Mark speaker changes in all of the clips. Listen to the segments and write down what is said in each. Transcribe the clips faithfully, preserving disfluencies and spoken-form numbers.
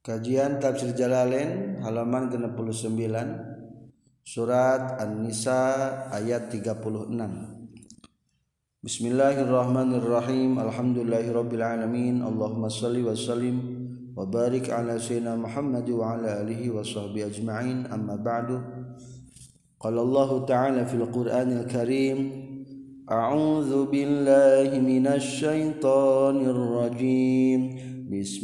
Speaker 1: Kajian Tafsir Jalalain halaman enam puluh sembilan, surat An-Nisa ayat tiga puluh enam. Bismillahirrahmanirrahim. Alhamdulillahirabbil alamin. Allahumma shalli wa sallim wa barik ala sayyidina Muhammad wa ala alihi wa sahbihi ajma'in. Amma ba'du. Qala Allah ta'ala fil Qur'anil Karim, a'udzu billahi minasy syaithanir rajim.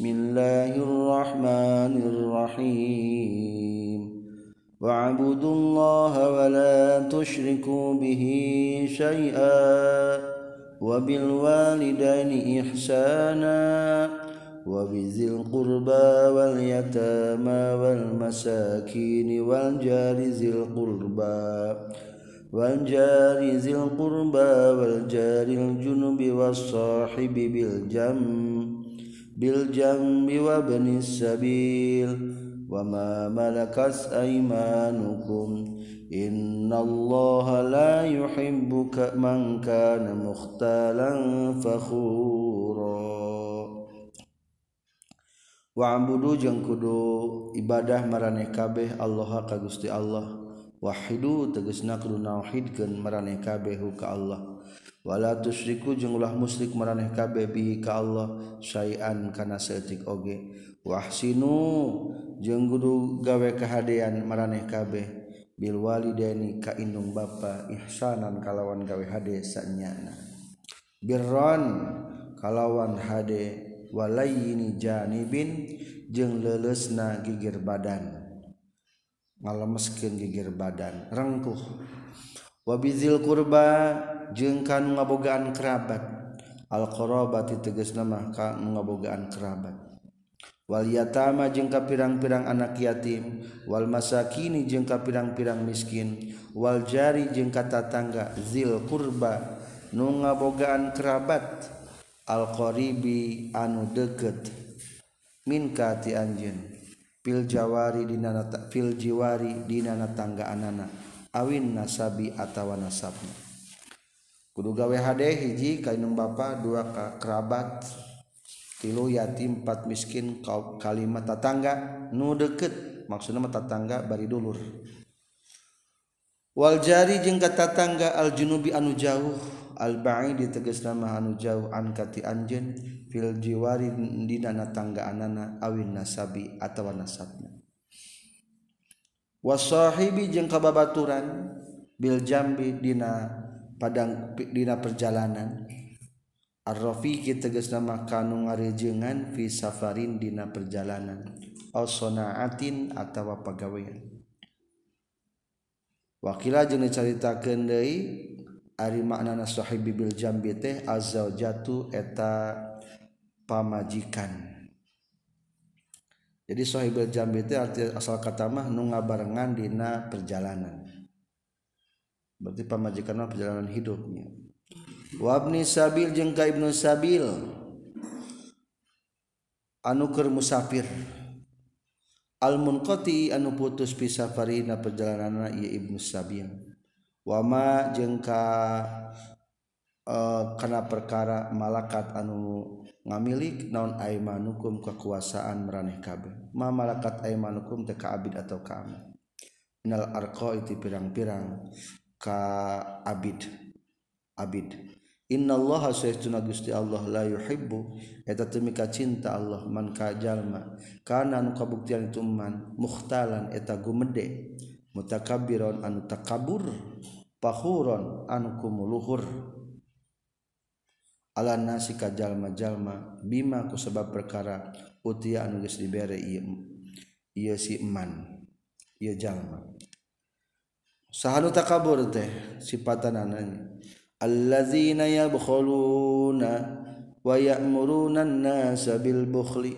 Speaker 1: Bismillahirrahmanirrahim. Wa'budullaha wa la tusyriku bihi syai'a wa bil walidaini ihsana wa bizil qurba wal yatama wal masakin wal jari zil qurba wal jari zil qurba wal jaril junubi was sahibi bil jam bil jambi wa banis sabil wa ma malakas aymanukum innallaha la yuhibbu man kana mukhtalan fakhura. Wa'budu jeung kudu ibadah maraneh kabeh Allah ka Gusti Allah. Wahidu tegasna kudu nauhidkeun maraneh kabeh ka Allah. Wala tusyriku jeung ulah musyrik maraneh kabeh bihi ka Allah syai'an kana saeutik oge. Wahsinu jeung kudu gawe kahadean maraneh kabeh bil walidaini ka indung bapa ihsanan kalawan gawe hade sanyana. Birran kalawan hade walayini janibin jeung leuleusna gigir badan. Ngalemeskeun gigir badan rengkuh. Wabizil qurba jeung kanu ngabogaan kerabat. Al qarabati tegasna mah kanu ngabogaan kerabat. Wal yatama jeung ka pirang-pirang anak yatim, wal masakini jeung ka pirang-pirang miskin, wal jari jeung ka tatangga zil qurba nu ngabogaan kerabat, al qaribi anu deukeut min ka ti anjeun, fil jawari dina fil jiwari dina tangga anana, awin nasabi atawa nasabna. Kudu gawe hade hiji ka indung bapa, dua ka kerabat, tilu yatim, empat miskin, kalima tatangga nu deukeut, maksudna mah tatangga bari dulur. Wal jari jeung ka tatangga al junubi anu jauh, al ba'id tegasna mah anu jauh an kati anjeun, fil jiwari dina tangga anana, awin nasabi atawa nasabna. Wasahibi jeung ka babaturan, bil jambi dina padang dina perjalanan, ar-rafiqi tegasna mah kanu ngarejeungan fi safarin dina perjalanan, aw sanaatin atawa pagawean. Wakila jeung dicaritakeun deui ari maknana sahibi bil jambi teh azzaujatu eta pamajikan. Jadi sahibul jambi teh arti asal kata mah nu ngabarengan dina perjalanan. Berarti pamajikan mah perjalanan hidupnya. Wa ibni sabil jeung ka ibnu sabil anu keur musafir. Al munqati anu putus fi safarina perjalananna ieu ibnu sabil. Wa ma jeung ka uh, kana perkara malakat anu ngamilik naon aimanukum kekuasaan maraneh kabeh. Ma malakat aimanukum teh ka abid atau ka aman. Minal arqa itu pirang-pirang ka abid abid. Innallaha sayyiduna Gusti Allah la yuhibbu eta teu mika cinta Allah man ka jalma kana anu kabuktian itu man mukhtalan eta gumede, mutakabbiron anu takabur, fakhuron anu kumuluhur, ala nasi ka jalma-jalma bima ku sabab perkara utia anu geus dibere ieu ieu si man ieu jalma. Sahanu takabur teh sifatana nanya allazina yabkhuluna wa ya'muruna an-nasa bil bukhli.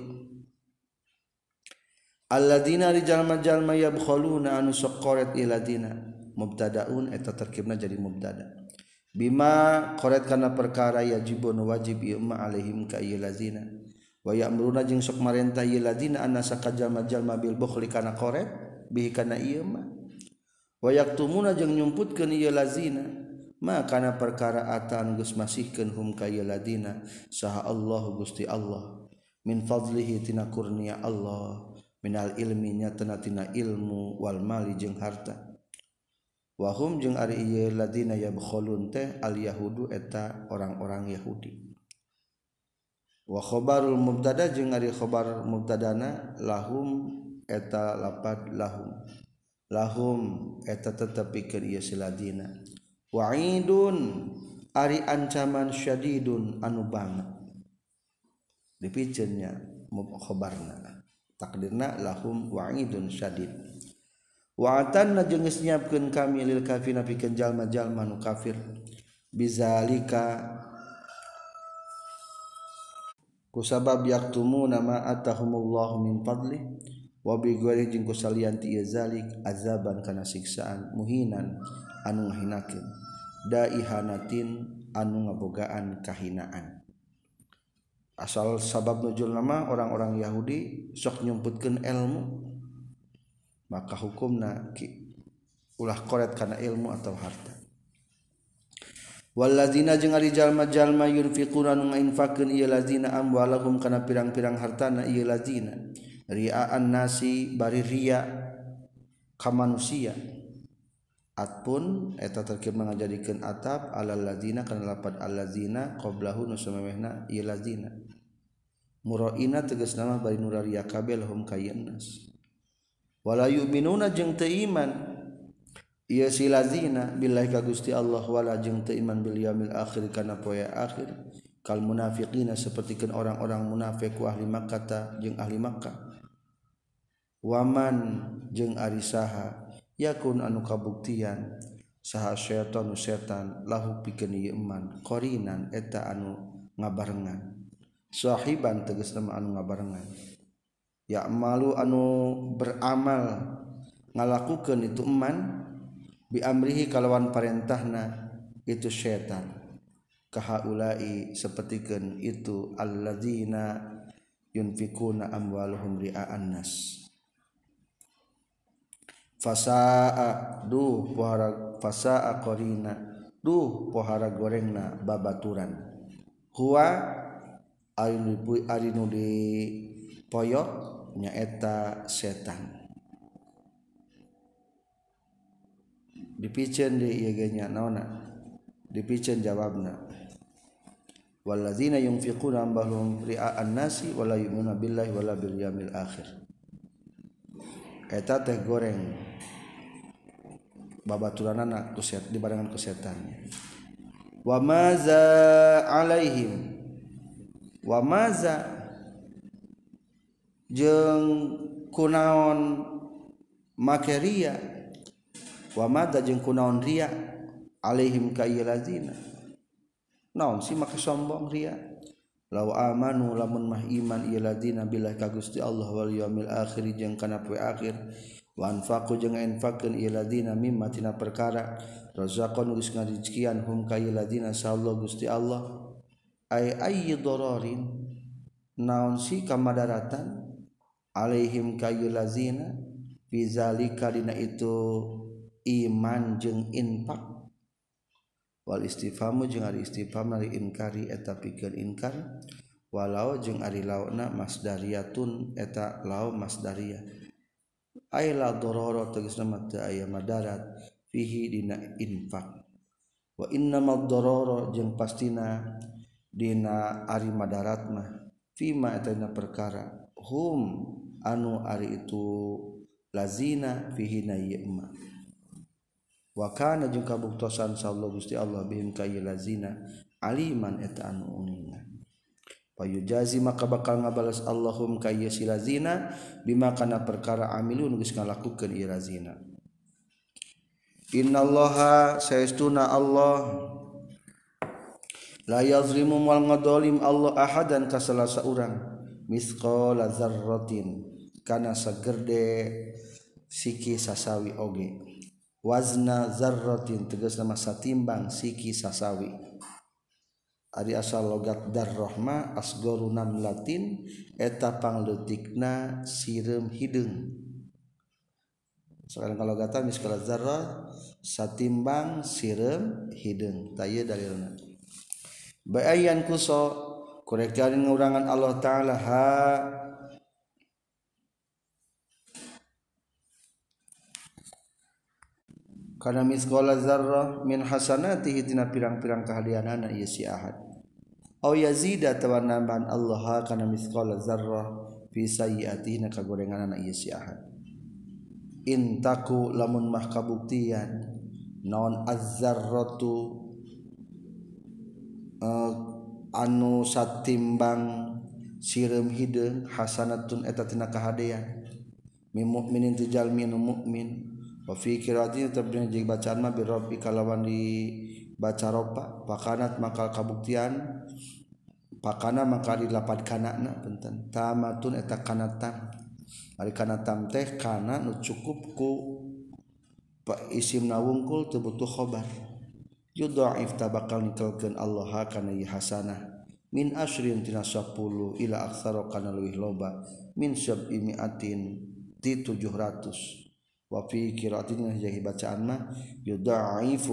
Speaker 1: Alladzina jalma-jalma yabkhuluna anu sok qoret iladina, mubtadaun eta terkibna jadi mubtada. Bima qoret kana perkara yajibun wajib ieu ma alaihim ka ieu lazina. Wa ya'muruna jeung sok marentah ieu ladina annasa ka jalma-jalma bil bukhli kana qoret bihi kana ieu ma. Wa yaktumuna jeung nyumputkeun ieu lazina ma kana perkara atan geus masihkeun hum ka ieu ladina saha Allah Gusti Allah min fadlihi tina kurnia Allah minal ilmi nyatana tina ilmu wal mali jeung harta wa hum jeung ari ieu ladina yabkhulun teh al yahudu eta orang-orang Yahudi wa khabarul mubtada jeung ari khabar mubtadana lahum eta lapad lahum lahum eta tetep pikeun ieu si ladina wa'idun ari ancaman syadidun anu banget dipikeunnya khabarna takdirna lahum wa'idun syadid wa'atanna jeung geus nyiapkeun kami lil kafirina pikeun jalma-jalma nu kafir bizalika kusabab yaktumuna ma atahumullahu min fadli wa bi ghairi jeung kusalian ti zalik azaban kana siksaan muhinan anu ngahinakeun daihanatin anu ngabogaan kahinaan asal sabab nuzul nama orang-orang Yahudi sok nyumputkeun ilmu maka hukumna ulah koret kana ilmu atau harta walladzina jeung ari jalma-jalma yunfiquna nu ngainfaqkeun ieu lazina amwalahum kana pirang-pirang hartana ieu lazina ria'an nasi bari ria ka manusia atpun eta terkib ngajadikeun atap alal ladzina kana lapad alladzina qablahu nu samemehna ieu lazina muraina tegasna mah bari nu ria kabeh lahum kayyannas wala yu'minuna jeung teu iman ieu si lazina billahi ka Gusti Allah wala jeung teu iman bil yaumil akhir kana poe akhir kal munafiqina sapertikeun orang-orang munafik wa ahli Makkah jeung ahli Makkah waman jeung ari saha yakun anu kabuktian saha syaitan setan lahu pikeun ieu iman qorinan eta anu ngabarengan sahiban tegasna anu ngabarengan ya malu anu beramal ngalakukeun itu iman bi amrihi kalawan parentahna itu syaitan kahaulai sapertikeun itu alladzina yunfikuna amwaluhum ria'an nas fasaa duh pohara fasaa qarina duh pohara gorengna babaturan huwa ari nu di poyok nyaeta setan dipikeun deui ieu ge nya naonna dipikeun jawabna walladzina yunfiquna amwalahum ria'an nasi wala yu'minuna billahi wala bil yaumil akhir eta teh goreng babaturanana ku set dibarengan ku setannya wa maza alaihim wa maza jeung kunaon make ria wa maza jeung kunaon ria alaihim ka ieu lazina naon si make sombong ria law amanu lamun mah iman ieu ladina billahi ka Gusti Allah wal yaumil akhir jeung kana poe akhir wa anfaqu jeung infaqkeun ieu ladina mimma tina perkara razaqan geus ngarizkian hum ka ieu ladina sallallahu Gusti Allah ay ayyi dararin naon si kamadaratan alaihim ka ieu ladina bizalika dina itu iman jeung infaq wal istifhamu jeung ari istifham ari inkari eta pikeun inkar walau jeung ari launa masdariyatun eta lau masdariyah ay la darara tegasna mah teu aya madarat fihi dina infaq wa innamal darara jeung pastina dina ari madarat mah fima eta dina perkara hum anu ari itu lazina fihi na yema wa kana jeung kabuktosan sallallahu Gusti Allah bihim ka ieu lazina aliman eta anu unina payujazi maka bakal ngabalas Allahum ka ieu si lazina bima kana perkara amilun geus ngalakukeun ieu lazina innallaha saestuna Allah la yazlimu wal ngadolim Allah ahadan ka salasa urang misqala dzarratin kana sagerde siki sasawi oge wazna zarratin tegasna mah satimbang siki sasawi ari asal logat darrahma asgoru namlatin eta pangleutikna sireum hideung soalna kalau gata miskala zarrah satimbang sireum hideung tah ieu dalilna bayan kuso kurekan ngurangan Allah taala ha kana misqala zarrah min hasanatihi tina pirang-pirang kahadianana ieu si ahad au yazida tawa nambahan Allah kana misqala zarrah fi sayyi'atihi na kagorenganana ieu si ahad intaku lamun mah kabuktian naon az-zarratu uh, anu satimbang sireum hideung hasanatun eta tina kahadean min mukminin tu jalmi nu mukmin wa fi qiraatin tabdina jeung bacaan mah bi rabbi kalawan di baca ropa pakanat maka kabuktian pakana maka dilapad kanana punten tamatun eta kanatan ari kana tam teh kana nu cukup ku isimna wungkul teu butuh khobar yudha'if tabakal nikelkeun Allah kana ieu hasanah min asyrin tina sepuluh ila aksara kana leuwih loba min sab'i mi'atin ti tujuh ratus wa fi qira'atin jahi bacaan mah yudha'ifu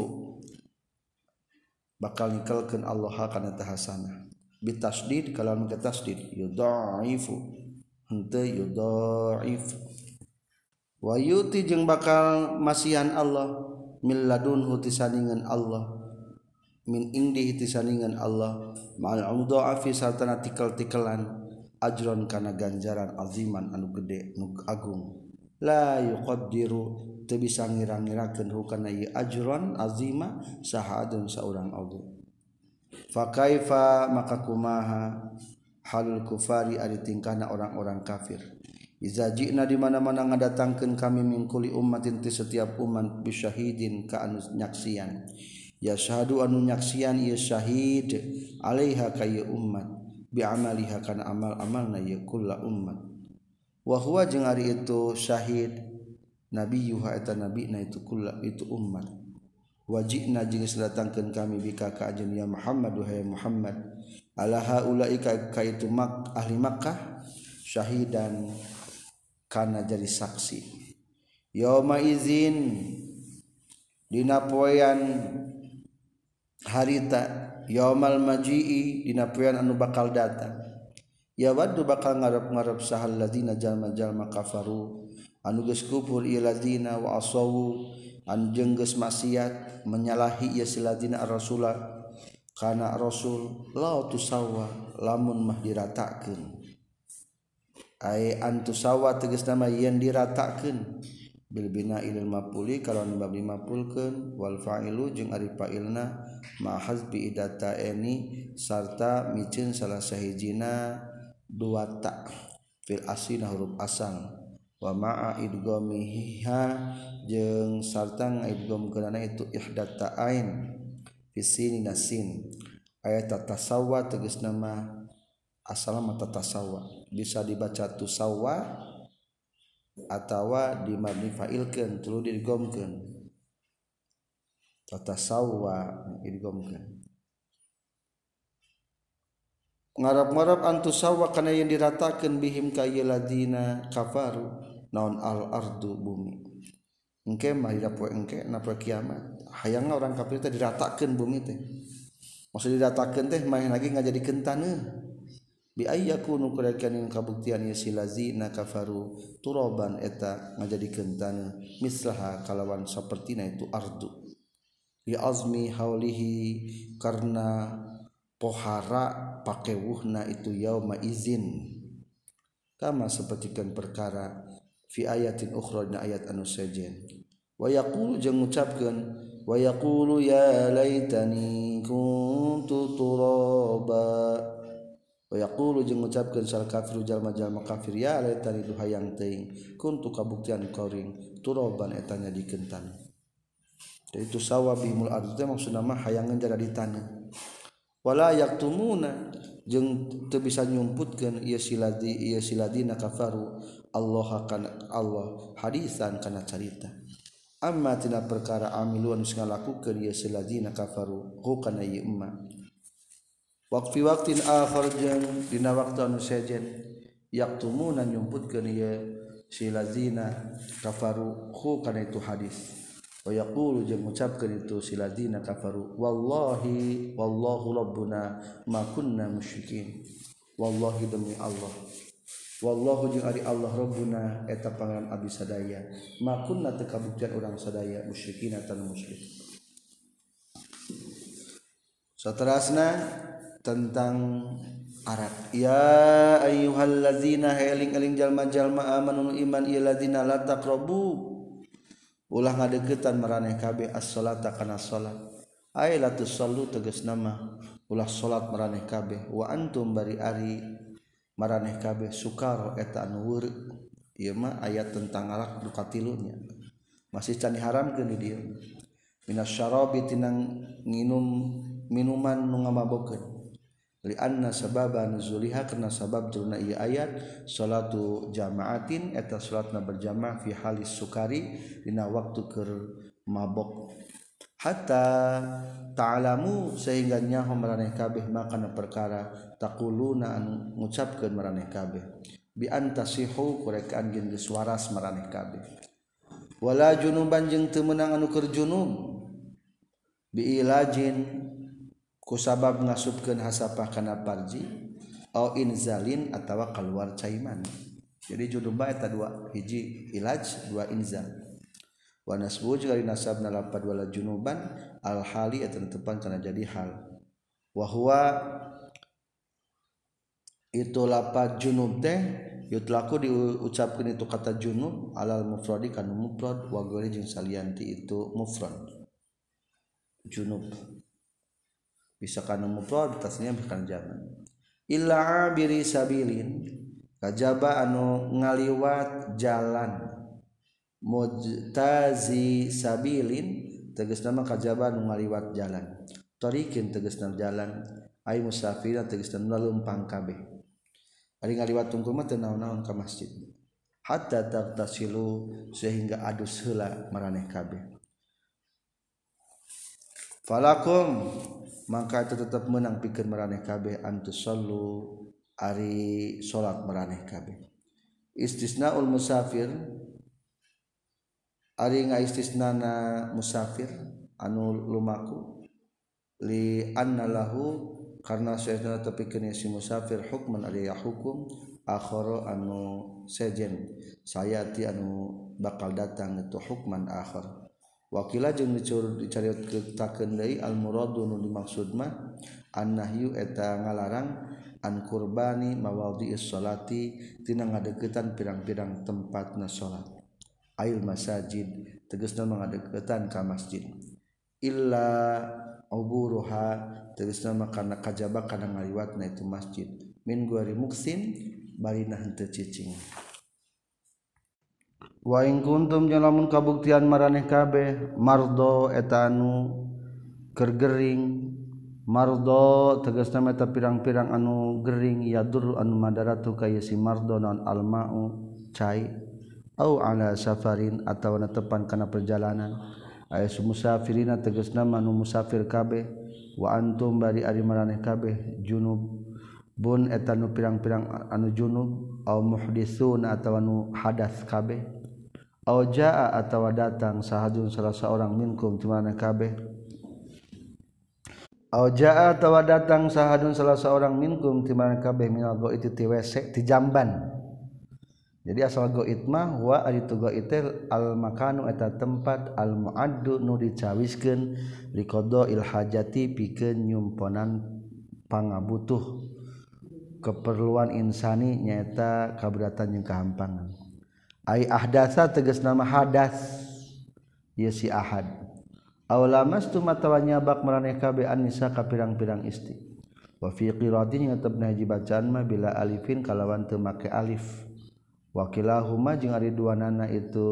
Speaker 1: bakal nikelkeun Allah kana tah hasanah bitasdid kalawan ke tasdid yudha'ifu henteu yudha'if wa yuti jeung bakal masihan Allah min ladunhu tisaningan Allah min indi tisaningan Allah ma'al mudha'afi sartana tikel-tikelan ajron kana ganjaran aziman anu gede nu agung la yuqaddiru teu bisa ngira-ngirakeun hukana ieu ajron azima sahadun saurang oge fa kaifa maka kumaha halul kufari ari tingkahna orang-orang kafir iza ji'na di mana-mana ngadatangkeun kami min kulli ummatin ti setiap umat bisyahidin ka anu nyaksian ya syahadu anu nyaksian ieu syahid alaiha ka ieu ummat bi amaliha kana amal-amalna ieu kullu ummat wa huwa jeung ari itu syahid nabiyuha eta nabina itu kullu itu ummat wajibna jeung sadatangkeun kami bika ka ajeun ya Muhammad wahai Muhammad ala haula'i ka itu mak ahli Makkah syahidan kana jadi saksi yauma izin dina poean harita yaumal maji'i dina poean anu bakal datang ya waddu bakal ngarep-ngarep sahal ladina jalma-jalma kafaru anu geus kufur ieu ladina wa asawu anu jeung geus maksiat menyalahi ieu ladina ar-rasulah kana rasul la tusawwa lamun mah diratakeun ai antusawa tegasna mah yen diratakeun bil bina ilal mafuli kalawan bab dimafulkeun wal fa'ilu jeung ari fa'ilna ma hazbi idata eni sarta miceun salah sahijina dua ta fil asina huruf asal wa ma'a idghamiha jeung sarta ngaidghamkeunana itu ihdata ain fisini nasin ayat tatasawwa tegasna mah asal mah tatasawwa bisa dibaca tusawwa atawa dimabni fa'ilkeun tuluy digomkeun tatasawwa digomkeun ngarap-ngarap antusawwa kana yang diratakeun bihim ka ieu ladina kafaru naon al ardu bumi engke mah dina poe engke na poe kiamat hayangna orang kafir teh diratakeun bumi teh maksud diratakeun teh mah lagi ngajadikeun taneuh bi ayyakunu kurekan kabuktian ieu silazina kafaru turaban eta ngajadikeun taneuh mislaha kalawan sapertina itu ardu li azmi haulihi karna pohara pakewuhna itu yauma izin kama sapertikeun perkara fi ayatin ukhra na ayat anu sejen wa yaqulu jeung ngucapkeun wa yaqulu ya laitani kuntu turaba wa yaqulu jeung ngucapkeun sal kafiru jalma-jalma kafir ya laitani duhayang teuing kuntu kabuktian qaring turaban eta nyadikeun taneuh itu sawabihimul ardh teh maksudna mah hayangan jara di taneuh wala yaktumuna jeung teu bisa nyumputkeun ieu siladi ieu siladina kafaru Allah kana Allah hadisan kana carita amma tina perkara amilu anu ngalakukeun ieu siladina kafaru hu kana ieu umma waqfi waqtin akhar jeung dina waktu anu sejen yaktumuna nyumputkeun ieu siladina kafaru hu kana itu hadis wa yaqulu jeung ngucapkeun itu siladina kafaru wallahi wallahu rabbuna ma kunna musyrikin wallahi demi Allah wallahu jeung ari Allah rabbuna eta pangaran abdi sadaya ma kunna teu kabuktian urang sadaya musyrikin tan musyrik. Saterasna tentang Arab ya ayyuhallazina eling-eling jalma-jalma amanu iman ieu ladina la taqrabu ulah ngadeukeutan maraneh kabeh as-salata kana salat ay la tusallu tegasna mah ulah salat maraneh kabeh wa antum bari ari maraneh kabeh sukaro eta anu weureuk ieu mah ayat tentang alak nu katilunya masih can diharamkeun di dieu minasyarabi tinang nginum minuman nu ngamabokeun li anna sababa nuzuliha karena sabab turunna ieu ayat salatu jamaatin eta salatna berjamaah fi halis sukari dina waktu keur mabok hatta ta'lamu sehingga nyaho maraneh kabeh makana perkara taquluna anu ngucapkeun maraneh kabeh bi antasihu kurekaan geus geus waras maraneh kabeh wala junuban jeung teu meunang anu keur junub bi ilajin ku sabab ngasupkeun hasapah kana parji au inzalin atawa keluar caiman. Jadi junubah eta dua hiji ilaj dua inzal wa nasbu jeung ari nasabna lapad wala junuban al hali eta tepan kana jadi hal wa huwa itu lapad junub teh yutlaku diucapkeun itu kata junub alal mufradi kana mufrad wa ghairi jeung salianti itu mufrad junub bisa kana mufrad tasnya bukan jaman illa abiri sabilin kajaba anu ngaliwat jalan mujtazi sabilin tegasna mah kajaba anu ngaliwat jalan tariqin tegasna jalan ay musafir tegasna naleumpang kabeh ari ngaliwat tungkul mah teu naon-naon ka masjid hatta tagtasilu sehingga adus heula maraneh kabeh falakum maka itu tetap menang pikeun maraneh kabeh antus sallu ari salat maraneh kabeh istisnaul musafir ari ngaistisnana musafir anu lumaku li anna lahu karna saestuna tepikeun si musafir hukman ari hukum akhara anu sejen sayati anu bakal datang itu hukman akhar wakila jeung dicaritakeun deui al muradu nu dimaksud mah annahyu eta ngalarang an qurbani mawadhi'is sholati tina ngadeuketan pirang-pirang tempatna salat ail masajid tegasna ngadeuketan ka masjid illa uburuha tegasna mah kana kajaba kana ngaliwatna itu masjid min guari muksin bari nah henteu cicing wa in kuntum jalamun kabuktian maraneh kabeh mardo eta anu keur gering mardo tegasna eta pirang-pirang anu gering yadur anu madaratu kaya si mardo non almau cai au ala safarin atawa netepan kana perjalanan aya musafirina tegasna anu musafir kabeh wa antum bari ari maraneh kabeh junub bun eta nu pirang-pirang anu junub au muhditsun atawa nu hadas kabeh au jaa atawa datang sahadun salah seorang minkum timana kabeh au jaa atawa datang sahadun salah seorang minkum timana kabeh minal go itu ti W C ti jamban jadi asal go itmah wa ari tu go itel al makanu eta tempat al muaddu nu dicawiskeun liqada il hajati pikeun nyumponan pangabutuh keperluan insani nyaeta kaberatan jeung kahampangan ai ahdasa tegas nama hadas ieu si ahad aw lamastu matawa nyabak maraneh kabeh anisa ka pirang-pirang istri wa fi qiratin ngatebna hiji bacaan mah bila alifin kalawan teu make alif wa kilahuma jeung ari duanana itu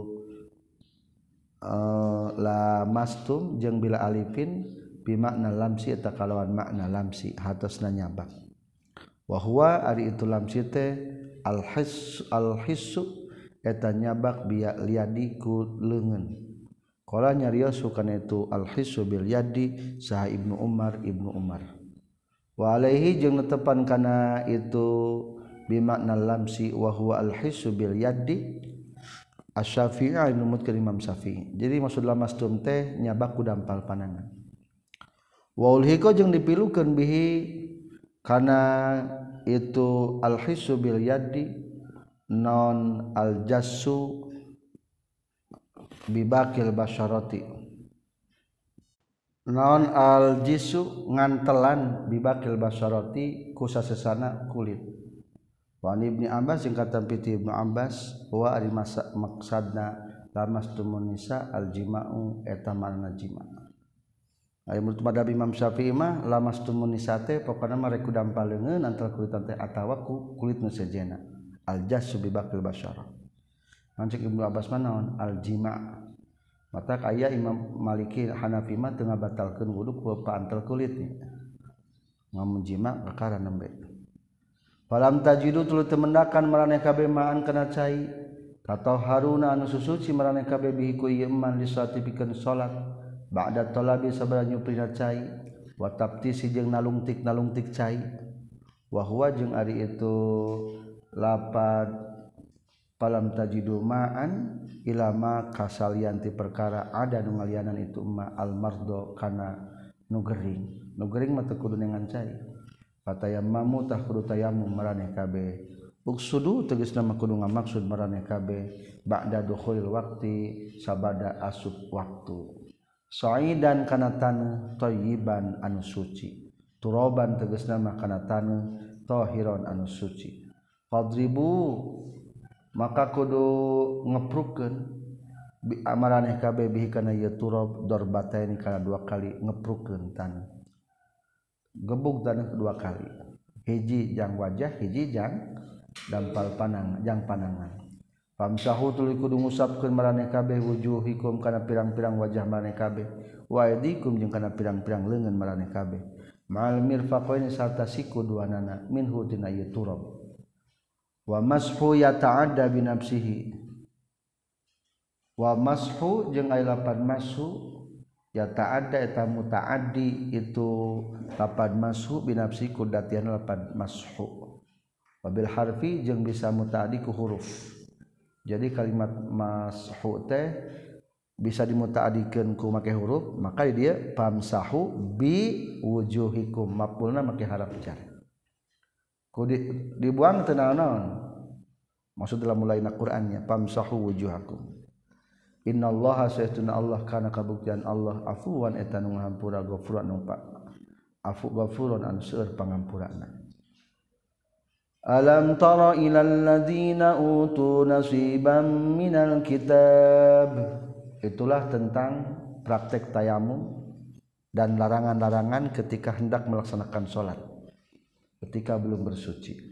Speaker 1: uh, lamastum jeung bila alifin bi makna lamsi eta kalawan makna lamsi hatosna nyabak wa huwa ari itu lamsi teh al his al hissu eta nyabak biya liadi ku leungeun qala nyariosu kana itu al hisu bil yadi saha Ibnu Umar Ibnu Umar wa alaihi jeung netepan kana itu bi makna lamsi wa huwa al hisu bil yadi Asy-Syafi'i numutkeun Imam Syafi'i. Jadi maksud lamastum teh nyabak ku dampal panangan. Wa ulhiqa jeung dipilukeun bihi kana itu al-hissu bil yaddi non al-jassu bibakil basyarati non al-jissu ngantelan bibakil basyarati ku sasesana kulit. Wa Ibnu Abbas jeung kata piti Ibnu Abbas wa ari maksudna lamastumun nisa al-jima'u eta marna jima'. Ari menurut madhab Imam Syafi'i mah lamastumun nisa teh pokona mah rek ku dampal leungeun antara kulit teh atawa ku kulit nu sejenna. Al-jassu bibakil basyarah. Mancik Ibnu Abbas mah naon al-jima'. Mata aya Imam Maliki Hanafi mah teu ngabatalkeun wudu ku paantel kulit nih. Ngamun jima' perkara nembe. Falam tajidu tuluy teu mendakan maraneh kabeh ma'an kana cai. Tatahharuna anu susuci maraneh kabeh bihi ku ieu man lisati pikeun salat. Ba'da talabi sabara nyuprina cai wa tabtisi jeung nalungtik-nalungtik cai. Wa huwa jeung ari itu lapad falam tajidu ma'an ilama kasalian ti perkara ada nu ngalianan itu ma al mardo kana nu gering. Nu gering mah teu kudu dengan cai. Fatayammamu tah kudu tayammum maraneh kabeh. Uksudu tegasna mah kudu ngamaksud maraneh kabeh ba'da dukhulil waqti sabada asup waktu. Sa'idan kana taneuh thayyiban anu suci. Turaban tegasna mah kana taneuh tahiron anu suci. Fadribu maka kudu ngeprukeun maraneh kabeh bihi kana ieu turab darbataini kana dua kali ngeprukeun taneuh. Gebuk taneuh dua kali. Hiji jang wajah, hiji jang dampal panang, jang panangan. Famsahu tuluy kudu ngusapkeun maraneh kabeh wujuhikum kana pirang-pirang wajah maraneh kabeh. Wa aydikum jeung kana pirang-pirang leungeun maraneh kabeh. Ma'al mirfaqaini sarta siku duanana minhu tina ieu turab. Wa mashu yata'adda bi nafsihi. Wa mashu jeung aya lapan mashu ya ta'adda eta muta'addi itu lapad mashu binafsi kudatian lapad mashu wabil harfi jeung bisa muta'addi ku huruf. Jadi kalimat mashu teh bisa dimuta'addikeun ku make huruf maka dia famsahu bi wujuhikum maf'ulna make haraf jar ku di, dibuang teu naon maksud dalam mulaina Qur'annya famsahu wujuhakum. Innallaha sayyiduna Allah kana kabuktian Allah afuwan eta nu ngahampura ghafuran nu pa afu ghafurun an seueur pangampurana. Alam tara ilal ladzina utu nasiban minal kitab. Itulah tentang praktek tayamum dan larangan-larangan ketika hendak melaksanakan salat ketika belum bersuci.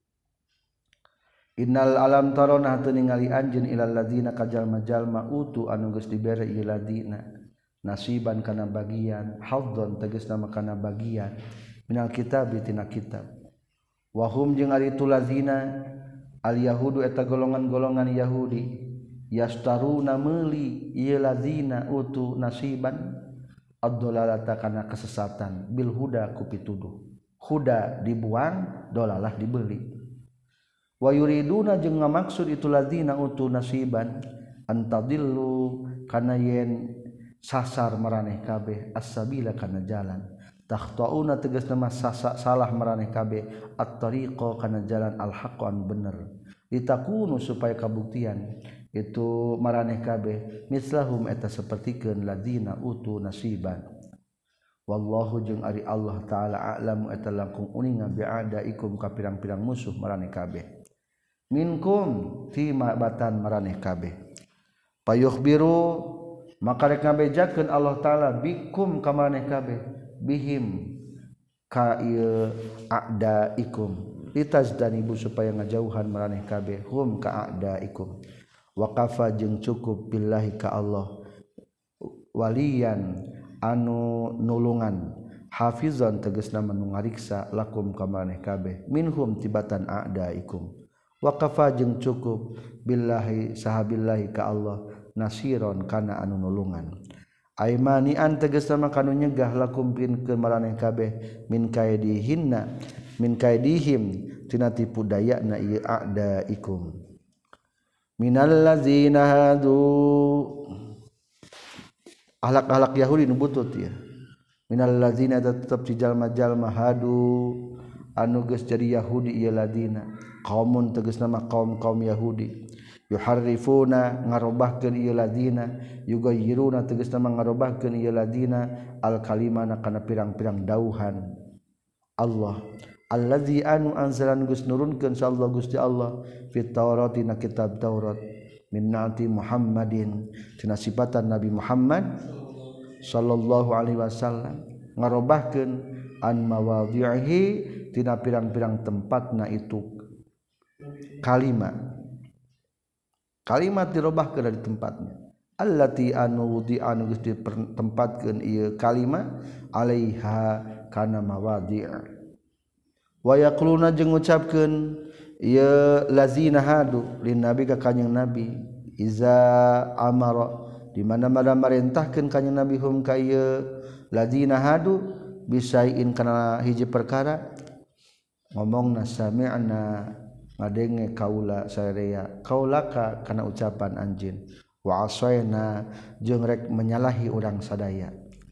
Speaker 1: Innal alam tarona hatu ningali anjeun ilal ladzina kajal majalma utu anu geus dibere ieu ladina nasiban kana bagian haddon tegasna kana bagian minal kitab tina kitab wa hum jeung ari tu ladzina al yahudu eta golongan-golongan Yahudi yastaruna meuli ieu ladzina utu nasiban ad-dalalata kana kesesatan bil huda ku pituduh huda dibuang dolalah dibeli. Wa yuriduna jeung ngamaksud itu ladzina utu nasiban antadillu kana yen sasar maraneh kabeh as-sabila kana jalan takhtauna tegasna mah salah maraneh kabeh at-tariqa kana jalan al-haqqan bener litakunu supaya kabuktian itu maraneh kabeh mislahum eta sapertikeun ladzina utu nasiban. Wallahu jeung ari Allah taala a'lamu eta langkung uninga bi'adaikum ka pirang-pirang musuh maraneh kabeh. Minkum ti mabatan maraneh kabeh payukhbiru maka rek ngabejakeun Allah taala bikum ka maraneh kabeh bihim ka ieu a'daikum litazdanibu supaya ngajauhan maraneh kabeh hum ka a'daikum wa kafa jeung cukup billahi ka Allah waliyan anu nulungan hafizan tegasna manu ngariksa lakum ka maraneh kabeh minhum tibatan a'daikum wa kafa jeung cukup billahi sahabillahi ka Allah nasiron kana anu nulungan aimani an tegasna kanu nyegah lakum pin ke maraneh kabeh min kaidihinna min kaidihim tina tipu dayana ieu a'daikum minal ladzina hadu ahlak-ahlak Yahudi nu butut ya minal ladzina tetep di jalma-jalma hadu anu geus jadi Yahudi ieu ladina qaumun tegasna mah kaum-kaum Yahudi yuharrifuna ngarobahkeun ieu ladina yugayyiruna tegasna mah ngarobahkeun ieu ladina al kalimana kana pirang-pirang dauhan Allah allazi anu anzalan Gus nurunkeun sallallahu Gusti Allah fit Taurat dina kitab Taurat min naati Muhammadin tina sifatan Nabi Muhammad sallallahu alaihi wasallam ngarobahkeun an mawadhi'ihi tina pirang-pirang tempatna itu kalimat kalimat dirobahkeun dari tempatnya allati anu di anu geus ditempatkeun ieu kalimat alaiha kana mawadhi' wa yaquluna jeung ngucapkeun ieu lazina hadu lin nabi ka kanjing nabi iza amara di mana-mana marentahkeun kanjing nabi hum ka ieu lazina hadu bisaiin kana hiji perkara ngomongna sami'na ngadenge kaula sareya kaulaka kana ucapan anjeun wa asaina jeung rek menyalahi urang sadaya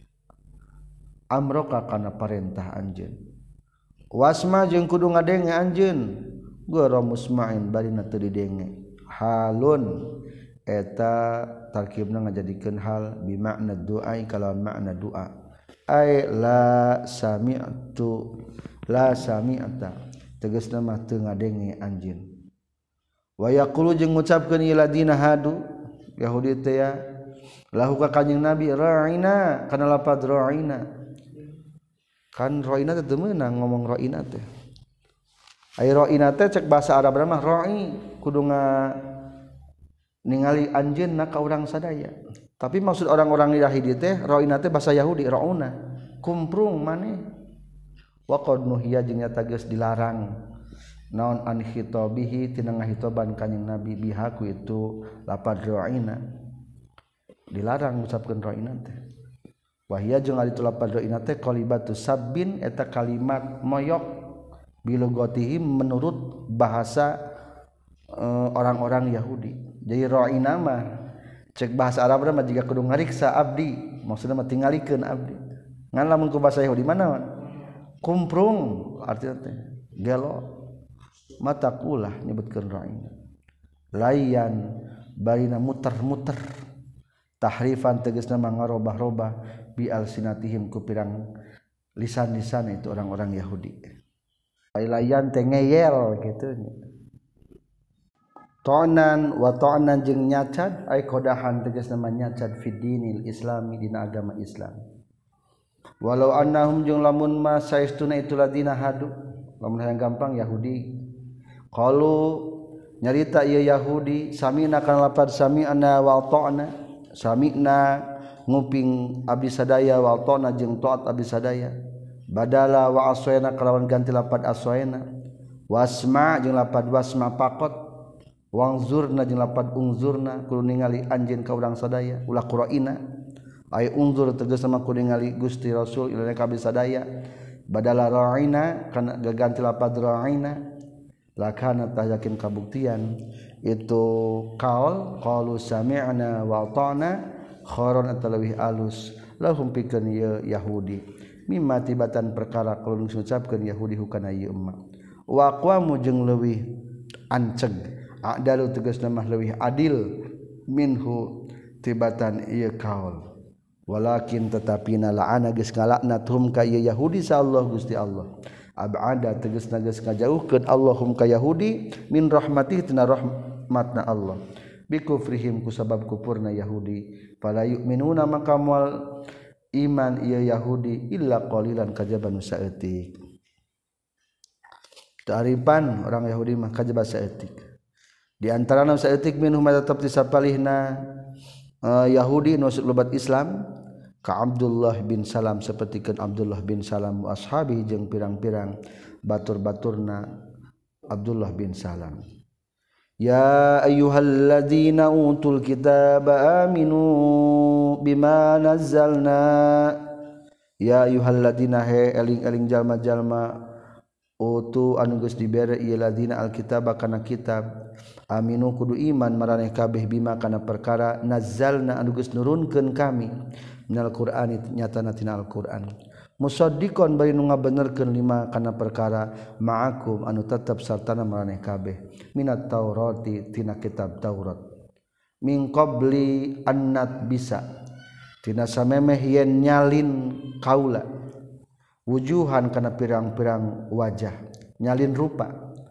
Speaker 1: amroka kana parentah anjeun wasma jeung kudu ngadenge anjeun gora musma'in barina teu didenge halun eta tarkibna ngajadikeun hal bi makna doa kalawan makna doa ai la sami'tu la sami'ta tegasna mah teu ngadenge anjeun wa yaqulu jeung ngucapkeun ieu ladina hadu Yahudi teh ya lahu ka kanjing nabi ra'ina kana lapad ra'ina kan ra'ina teh teu meunang ngomong ra'ina teh ai ra'ina teh cek bahasa Arab mah ra'i kudu nga ningali anjeunna ka urang sadaya tapi maksud orang-orang Yahudi teh ra'ina teh bahasa Yahudi ra'una kumprung maneh wa qad nuhiya jeung nyata geus dilarang naon an khitabihi tina ngahitoban kanjing nabi biha ku itu lapad ra'ina dilarang ngucapkeun ra'ina teh wa hiya jeung ari tu lapad ra'ina teh qalibatu sabbin eta kalimat moyok bilugotihim menurut bahasa uh, orang-orang Yahudi jadi ra'ina mah cek bahasa Arab mah jiga kudu ngariksa abdi maksudna mah tingalikeun abdi ngan lamun ku bahasa Yahudi mana kumprung artinya teh gelo mata kulah nyebutkeun ra'ina layan barina muter-muter tahrifan tegasna mangarobah-robah bi alsinatihim ku pirang lisan-lisan itu orang-orang Yahudi layan teh ngeyel kitu ta'nan wa ta'nan jeung nyacad ai qadahan tegasna nyacad fi dinil islami dina agama Islam walau annahum jeung lamun ma saestuna itu ladina hadu lamun hayang gampang Yahudi qalu nyarita ieu Yahudi sami'na kana lapad sami'na wa ta'na sami'na nguping abdi sadaya wa ta'na jeung taat abdi sadaya badala wa aswayna kalawan ganti lapad aswayna wasma jeung lapad wasma pakot wangzurna jeung lapad ungzurna kudu ningali anjeun ka urang sadaya ulah qura'ina ay unzur tegasna kudu ningali Gusti Rasul ilana ka abdi sadaya badala ra'ina kana gaganti lapad ra'ina lakana tayakin kabuktian itu qaul qalu sami'na wa ata'na kharon atalawih alus lahum pikeun ieu Yahudi mimma tibatan perkara kulun ngucapkeun Yahudi hukana ieu emma wa aqwamu jeung leuwih anceg adalu tegasna mah leuwih adil minhu tibatan ieu qaul walakin tetapina la'ana geus ngalaknat hum ka ieu Yahudi sa Allah Gusti Allah abada tegasna geus ngajauhkeun Allahum ka Yahudi min rahmatih tina rahmatna Allah bikufrihim ku sabab kufurna Yahudi fala yu'minuna maka moal iman ieu Yahudi illa qalilan kajaba nu saeutik ta'rifan orang Yahudi mah kajaba saeutik di antarana saeutik minhum tetep disapalihna uh, Yahudi nu lobat Islam ka Abdullah bin Salam sapertikeun Abdullah bin Salam wa ashabi jeung pirang-pirang batur-baturna Abdullah bin Salam ya ayyuhalladzina utul kitaba aminu bima nazzalna ya ayyuhalladzina he eling-eling jalma-jalma utu anu geus dibere ieu ladina alkitab kana kitab aminu kudu iman maraneh kabeh bima kana perkara nazzalna anu geus nurunkeun kami minal qur'ani nyatana tina Al-Qur'an musaddiqon bari nu ngabenerkeun lima kana perkara ma'akum anu tetep sartana maraneh kabeh minat taurati tina kitab Taurat min qabli annat bisa tina samemeh yen nyalin kaula wujuhan kana pirang-pirang wajah nyalin rupa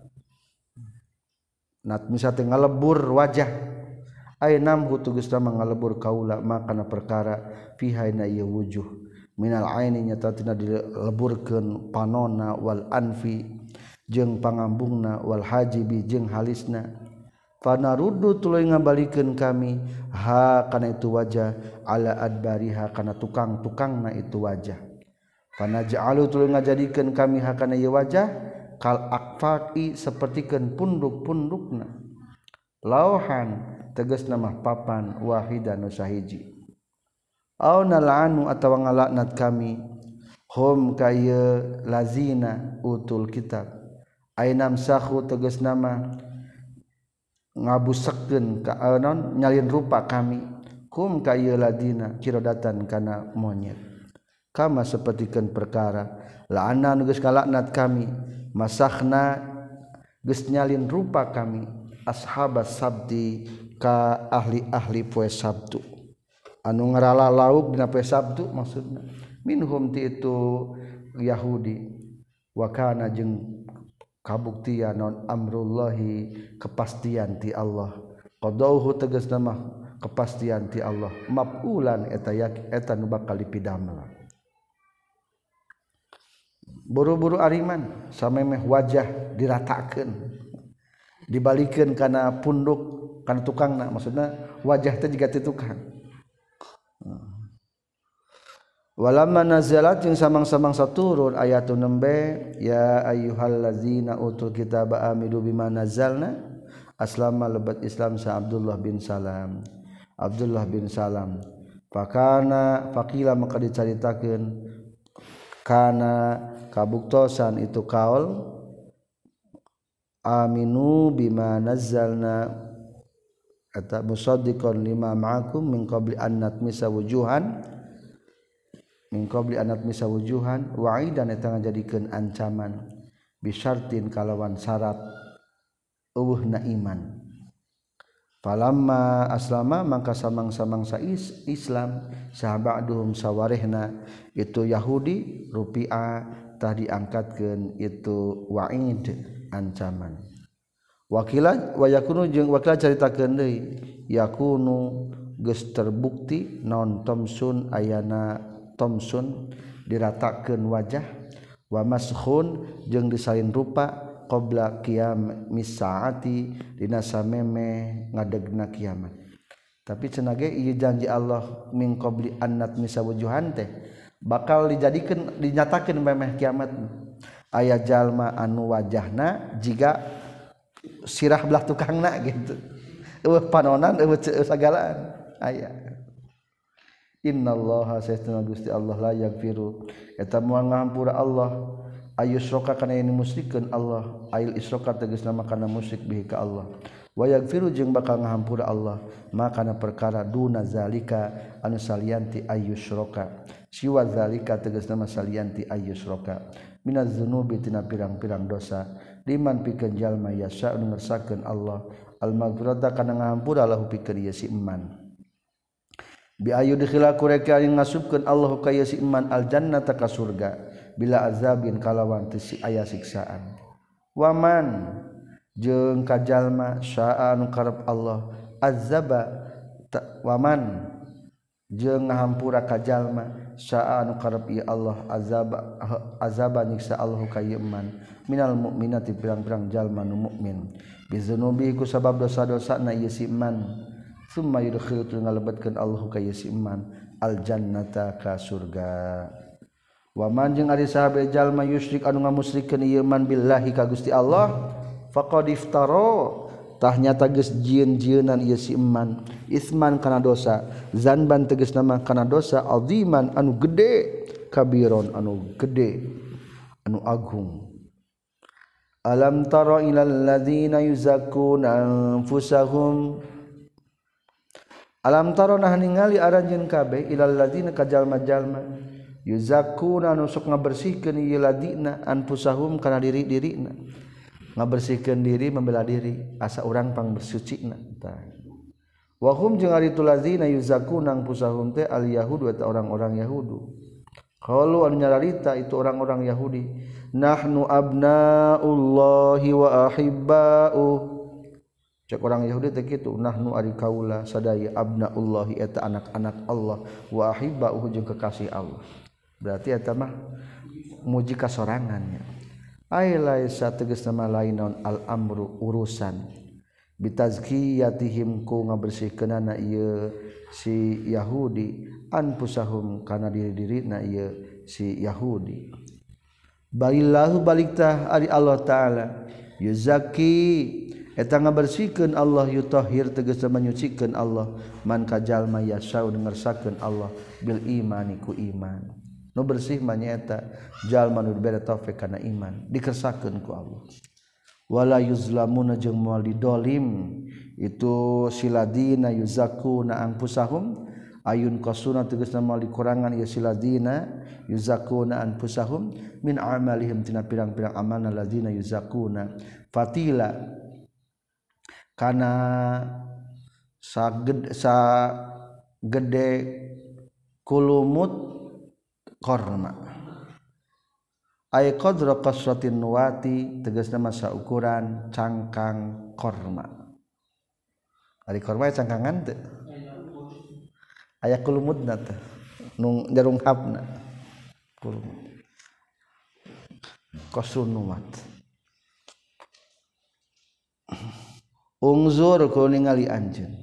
Speaker 1: nat misa teh ngalebur wajah ainam hutugus nama ngalebur kaula makana perkara fihaina ieu wujuh minal aini nyata tina dileburkeun panona wal anfi jeung pangambungna wal hajibi jeung halisna panaruddu tuluy ngabalikeun kami ha kana itu wajah ala adbariha kana tukang-tukangna itu wajah panaj'alu tuluy ngajadikeun kami ha kana ieu wajah kal akfaqi sapertikeun punduk-pundukna lauhan tegasna mah papan wahidan nu sahiji au nal'anu atawa ngalaknat kami hum kaya lazina utul kitab ainam sahu tegasna mah ngabusekkeun ka anon nyalin rupa kami hum kaya ladina kirodatan kana monyet kama sapertikeun perkara la'ana nu geus ngalaknat kami masakhna geus nyalin rupa kami ashabas sabti ka ahli-ahli poe Sabtu anu ngarala lauk dina poe Sabtu maksudna minhum ti itu Yahudi wa kana jeung kabuktian non amrullahi kepastian ti Allah qadauhu tegasna mah kepastian ti Allah mafulan eta yak eta nu bakal dipidamel buru-buru ariman samemeh wajah diratakeun dibalikeun kana punduk kana tukangna maksudna wajah teh jiga ti tukang walamma nazalat jeung samang-samang saturun ayatun nembe ya ayyuhallazina utul kitaba amilu bima nazzalna aslama lebat Islam sa Abdullah bin Salam Abdullah bin Salam fakana faqila maka dicaritakeun kana kabuktosan itu kaul aminu bima nazzalna eta musaddiqan lima ma'akum min qabli an natmisa wujuhan min qabli an natmisa wujuhan wa'idan eta ngajadikeun ancaman bisyartin kalawan syarat eueuhna iman falamma aslama maka samang-samang sa Islam sahabaduhum sawarehna itu Yahudi rupi'a tah diangkatkeun itu wa'id ancaman wakila wa yakunu jeung wakila caritakeun deui yakunu geus terbukti naon tomsun ayana tomsun diratakeun wajah wa maskhun jeung disalin rupa qabla qiyam misaati dina sameme ngadegna kiamat tapi cenah ge ieu janji Allah min qabli annat misawujuhan teh bakal dijadikeun dinyatakeun memeh kiamat aya jalma anu wajahna jiga sirah belah tukangna gitu eueuh panonan eueuh sagalaan aya innallaha sayyidina Gusti Allah la yaghfiru eta moal ngahampura Allah ayusroka kana ini musyrikeun Allah ail isroka tegasna kana musyrik bihi ka Allah wa yaghfiru jeung bakal ngahampura Allah makana perkara duna zalika anu salianti ayusroka siwa zalika tegasna salianti ayusroka minaz dzunubi tina pirang-pirang dosa liman pikeun jalma yasa anu ngersakeun Allah al maghfirata kana ngahampura lahu pikeun ieu si iman bi ayu dikhila kureka anu ngasupkeun Allah ka ieu si iman al jannata ka surga bila azabin kalawan teu si aya siksaan waman jeung ka jalma syaa anu karep Allah azaba waman jeung ngahampura ka jalma syaa anu karep ieu Allah azaba azaba nyiksa Allah ka ieu iman minal mukminati pirang-pirang jalma nu mukmin bizunubi ku sabab dosa-dosana ieu si iman summa yudkhilu ngalebetkeun Allah ka ieu si iman al jannata ka surga wa man jeung ari sahabe jalma yusyrik anu ngamusyrikeun ieu iman billahi ka Gusti Allah faqad iftara tah nyata geus jieun-jieunan ieu si iman isman kana dosa zanban tegasna mah kana dosa aziman anu gede kabiron anu gede anu agung Alam tara ilal ladzina yuzakkuna anfusahum Alam tara nah ningali aranjeun kabeh ilal ladzina ka jalma-jalma yuzakkuna nu sok ngabersihkeun ieu ladina anfusahum kana diri-dirina ngabersihkeun diri membela diri asa urang pang bersucina tah wa hum jeung ari tu ladzina yuzakkuna anfusahum teh al yahudu eta orang-orang Yahudu qalu anu nyararita itu orang-orang Yahudi nahnu abnaullahi wa ahibba'u cek orang Yahudi teh kitu nahnu ari kaula sadaya abnaullahi eta anak-anak Allah wa ahibba'u jeung kekasih Allah berarti eta mah muji kasorangannya ai laisa tegasna mah lain naon al amru urusan bitazkiyatihim ku ngabersihkeunana ieu si Yahudi anfusahum kana diri-dirina ieu si Yahudi balillahu baliktah ari Allah taala yuzaki eta ngabersihkeun Allah yutahhir tegasna menyucikeun Allah man kajalma yasau ngersakakeun Allah bil imani ku iman nu bersih mah nyaeta jalma nu dibere taufik kana iman dikersakeun ku Allah wala yuzlamuna jeung moal didolim itu siladina yuzakuna anfusahum ayun qasuna tegasna moal dikurangan ieu siladina yuzakuna anfusahum min amalihim tina pirang-pirang amalna ladina yuzakuna fatila kana saged sa gede kulumut korma ay qadra qasratin nuwati tegasna masa ukuran cangkang korma ari korma cangkangan teu aya kulumutna teh nu jarung habna kulumut qasrun nuwat ungzur ku ningali anjeun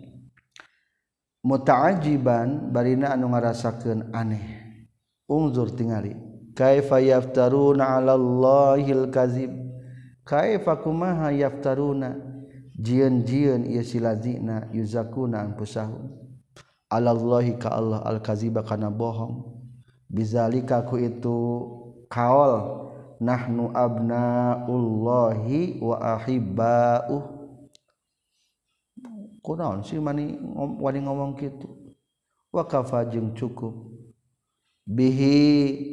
Speaker 1: muta'ajiban barina anu ngarasakeun aneh ungzur tingali kaifa yaftaruna 'ala Allahil kadzib kaifa kumaha yaftaruna jieun-jieun ieu silazina yuzakuna anfusahum 'ala Allahi ka Allah al kadziba kana bohong bizalika ku itu kaol nahnu abnaullahi wa ahibba'u kunaon sih mani wani ngomong kitu wa kafa jeung cukup bihi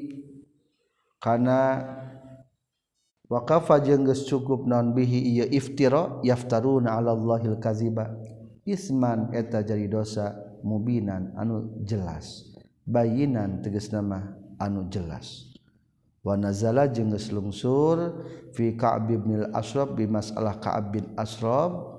Speaker 1: kana waqafa jeung geus cukup naon bihi ieu iftira yaftaruna 'ala Allahil kadziba isman eta jadi dosa mubinan anu jelas bayinan tegasna mah anu jelas wa nazala jeung geus lungsur fi Ka'b bin al-Ashraf bi masalah Ka'b bin Ashraf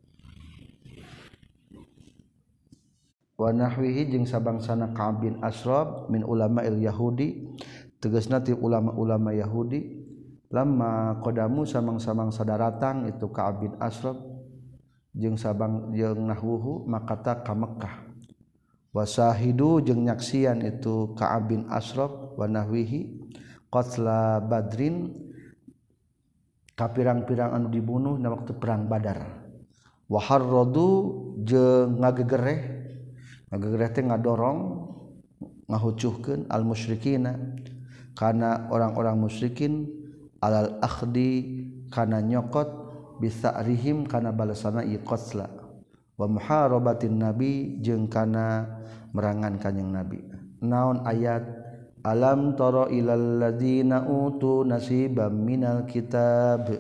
Speaker 1: wa nahwihi jeung sabangsana Ka'b bin Ashraf min ulama'il yahudi tegasna ti ulama-ulama Yahudi lamma qadamu samang-samang sadaratang itu Ka'b bin Ashraf jeung sabang jeung nahwuhu makata ka Mekkah wasahidu jeung nyaksian itu Ka'b bin Ashraf wa nahwihi qatla Badrin kapirang-pirang anu dibunuh na waktu perang Badar wa harradu jeung ngagegereh ngagegereh teh ngadorong ngahucuhkeun al musyrikina kana orang-orang musyrikin alal akhdi kana nyokot bisa'rihim kana balasana ieu qatla wa muharabatin nabi jeung kana merangan kanjing nabi naon ayat alam tara ilal ladzina utu nasiban minal kitab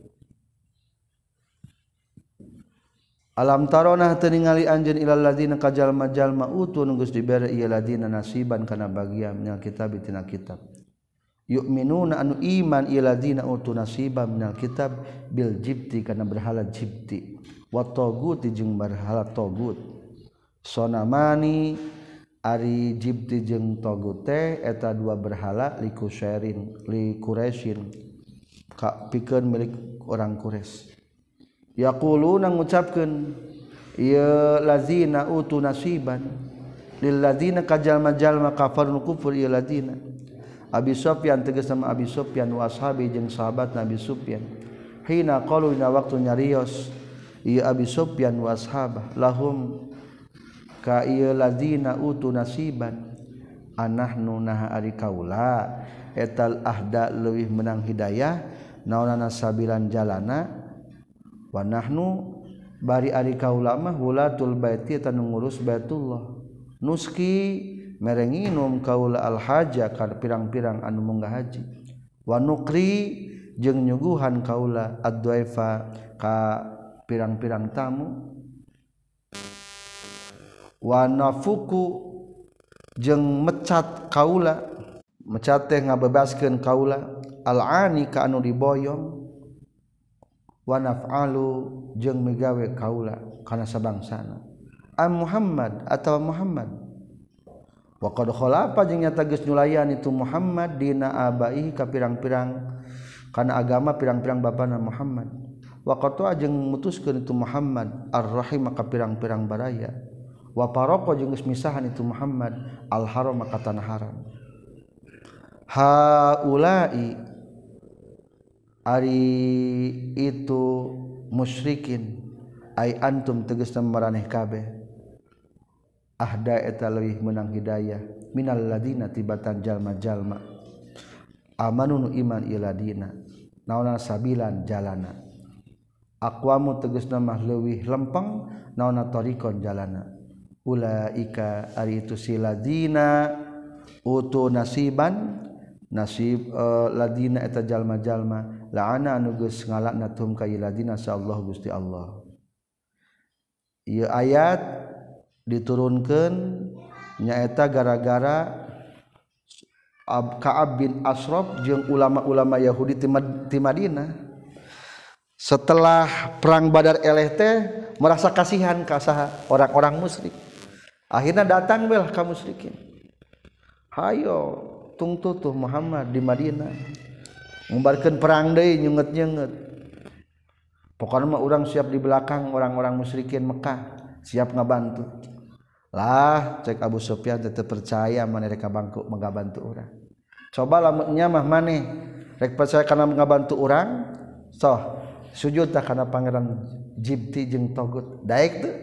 Speaker 1: alam tarona teu ningali anjeun ilal ladzina ka jalma-jalma utu nu geus dibere ieu ladzina nasiban kana bagian minal kitab tina kitab yu'minuna anu iman ieu ladzina utu nasiban minal kitab bil jibti kana berhala jibti wa tagut jeung berhala tagut sonamani ari jibti jeung tagut teh eta dua berhala li kusairin li quraisyin ka pikeun milik orang Quraisy yaquluna ngucapkeun ieu ladzina utu nasiban lil ladzina kajalma-jalma kafarun kufur ieu ladzina Abi Sufyan tegas nama Abi Sufyan wa ashabi jeung sahabat Nabi Sufyan hina qalu dina waktu nyarios ieu Abi Sufyan wa ashabah lahum ka ieu ladzina utu nasiban anahnu naha ari kaula etal ahda leuwih menang hidayah naonana sabilan jalana wa nahnu bari ari kaula mah wulatul baiti eta nu ngurus Baitullah nuski mere nginum kaula al haja ka pirang-pirang anu munggah haji wa nukri jeung nyuguhan kaula ad-dhaifa ka pirang-pirang tamu wa nafuku jeung mecat kaula mecat teh ngabebaskeun kaula al-ani ka anu diboyong wa naf'alu jeung migawe kaula kana sabangsana am Muhammad atawa Muhammad wa qad khalafa jeung nyata geus nyulayan itu Muhammad dina abaihi ka pirang-pirang kana agama pirang-pirang bapana Muhammad wa qata jeung mutuskeun itu Muhammad ar-rahim ka pirang-pirang baraya wa paraqa jeung geus misahan itu Muhammad al-haram ka tanah haram haula'i ari itu musyrikin ai antum tegasna maraneh kabeh ahda eta leuwih meunang hidayah minal ladina tibatan jalma-jalma amanu nu iman iladina naona sabilan jalana aqwamu tegasna mah leuwih lempeng naona tariqon jalana ulaika ari itu siladina utu nasiban nasib uh, ladina eta jalma-jalma la'ana anu geus ngalaknatum ka ladina saallah Gusti Allah. Ieu ayat diturunkeun nyaeta gara-gara Ka'ab bin Ashraf jeung ulama-ulama Yahudi ti Madinah setelah perang Badar eleh teh merasa kasihan ka saha orang-orang musyrik. Akhirnya datang belah ka musyrikin. Hayo tungtutuh Muhammad di Madinah ngumbarkeun perang deui nyunget-nyunget pokokna mah urang siap di belakang orang-orang musyrikin Mekah siap ngabantu lah cek Abu Sufyan teh percaya maneh rek ngabantu ngabantu urang coba lamun nya mah maneh rek percaya kana ngabantu urang soh sujud tah kana pangeran Jibti jeung Togut daek teu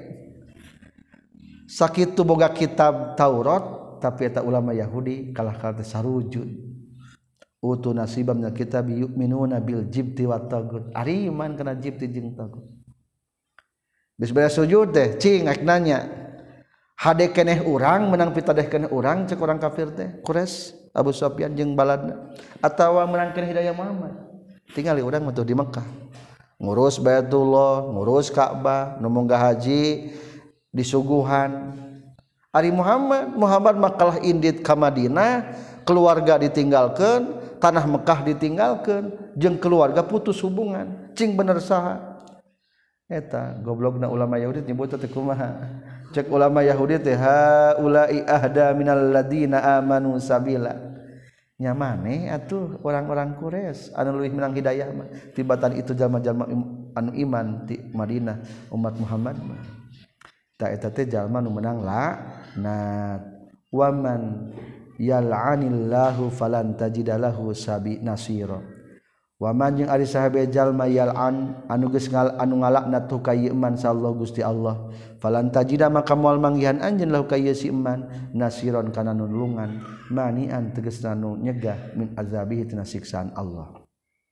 Speaker 1: sakitu boga kitab Taurat tapi eta ulama Yahudi kalah kata sarujud utu nasibam na kitab yu'minuna bil jibti wat tagut ari iman kana jibti jeung tagut geus beres sujud teh cing ak nanya hade keneh urang menang pitadeh keneh urang cek urang kafir teh Quraisy Abu Sufyan jeung baladna atawa menang keneh hidayah Muhammad tingali urang mah di Mekah ngurus Baitullah ngurus Ka'bah nu munggah haji disuguhan Ari Muhammad Muhammad makalah indit ka Madinah keluarga ditinggalkeun tanah Mekah ditinggalkeun jeung keluarga putus hubungan cing bener saha eta goblokna ulama Yahudi nyebut teh kumaha cek ulama Yahudi teh haula'i ahda minal ladina amanu sabila nya maneh atuh orang-orang Quraisy anu leuwih menang hidayah mah tibatan itu jalma-jalma anu iman di Madinah umat Muhammad mah ta eta teh jalma nu menang laknat waman yal'anillahu falan tajidalahu sabi nasira waman jeung ari sahabe jalma yal'an anu geus anu ngalaknat tu ka ieu man sallallahu Gusti Allah falan tajida maka moal manggihan anjeun lahu ka ieu si iman nasiron kana nulungan manian tegasna nu nyegah min azabihi tina siksaan Allah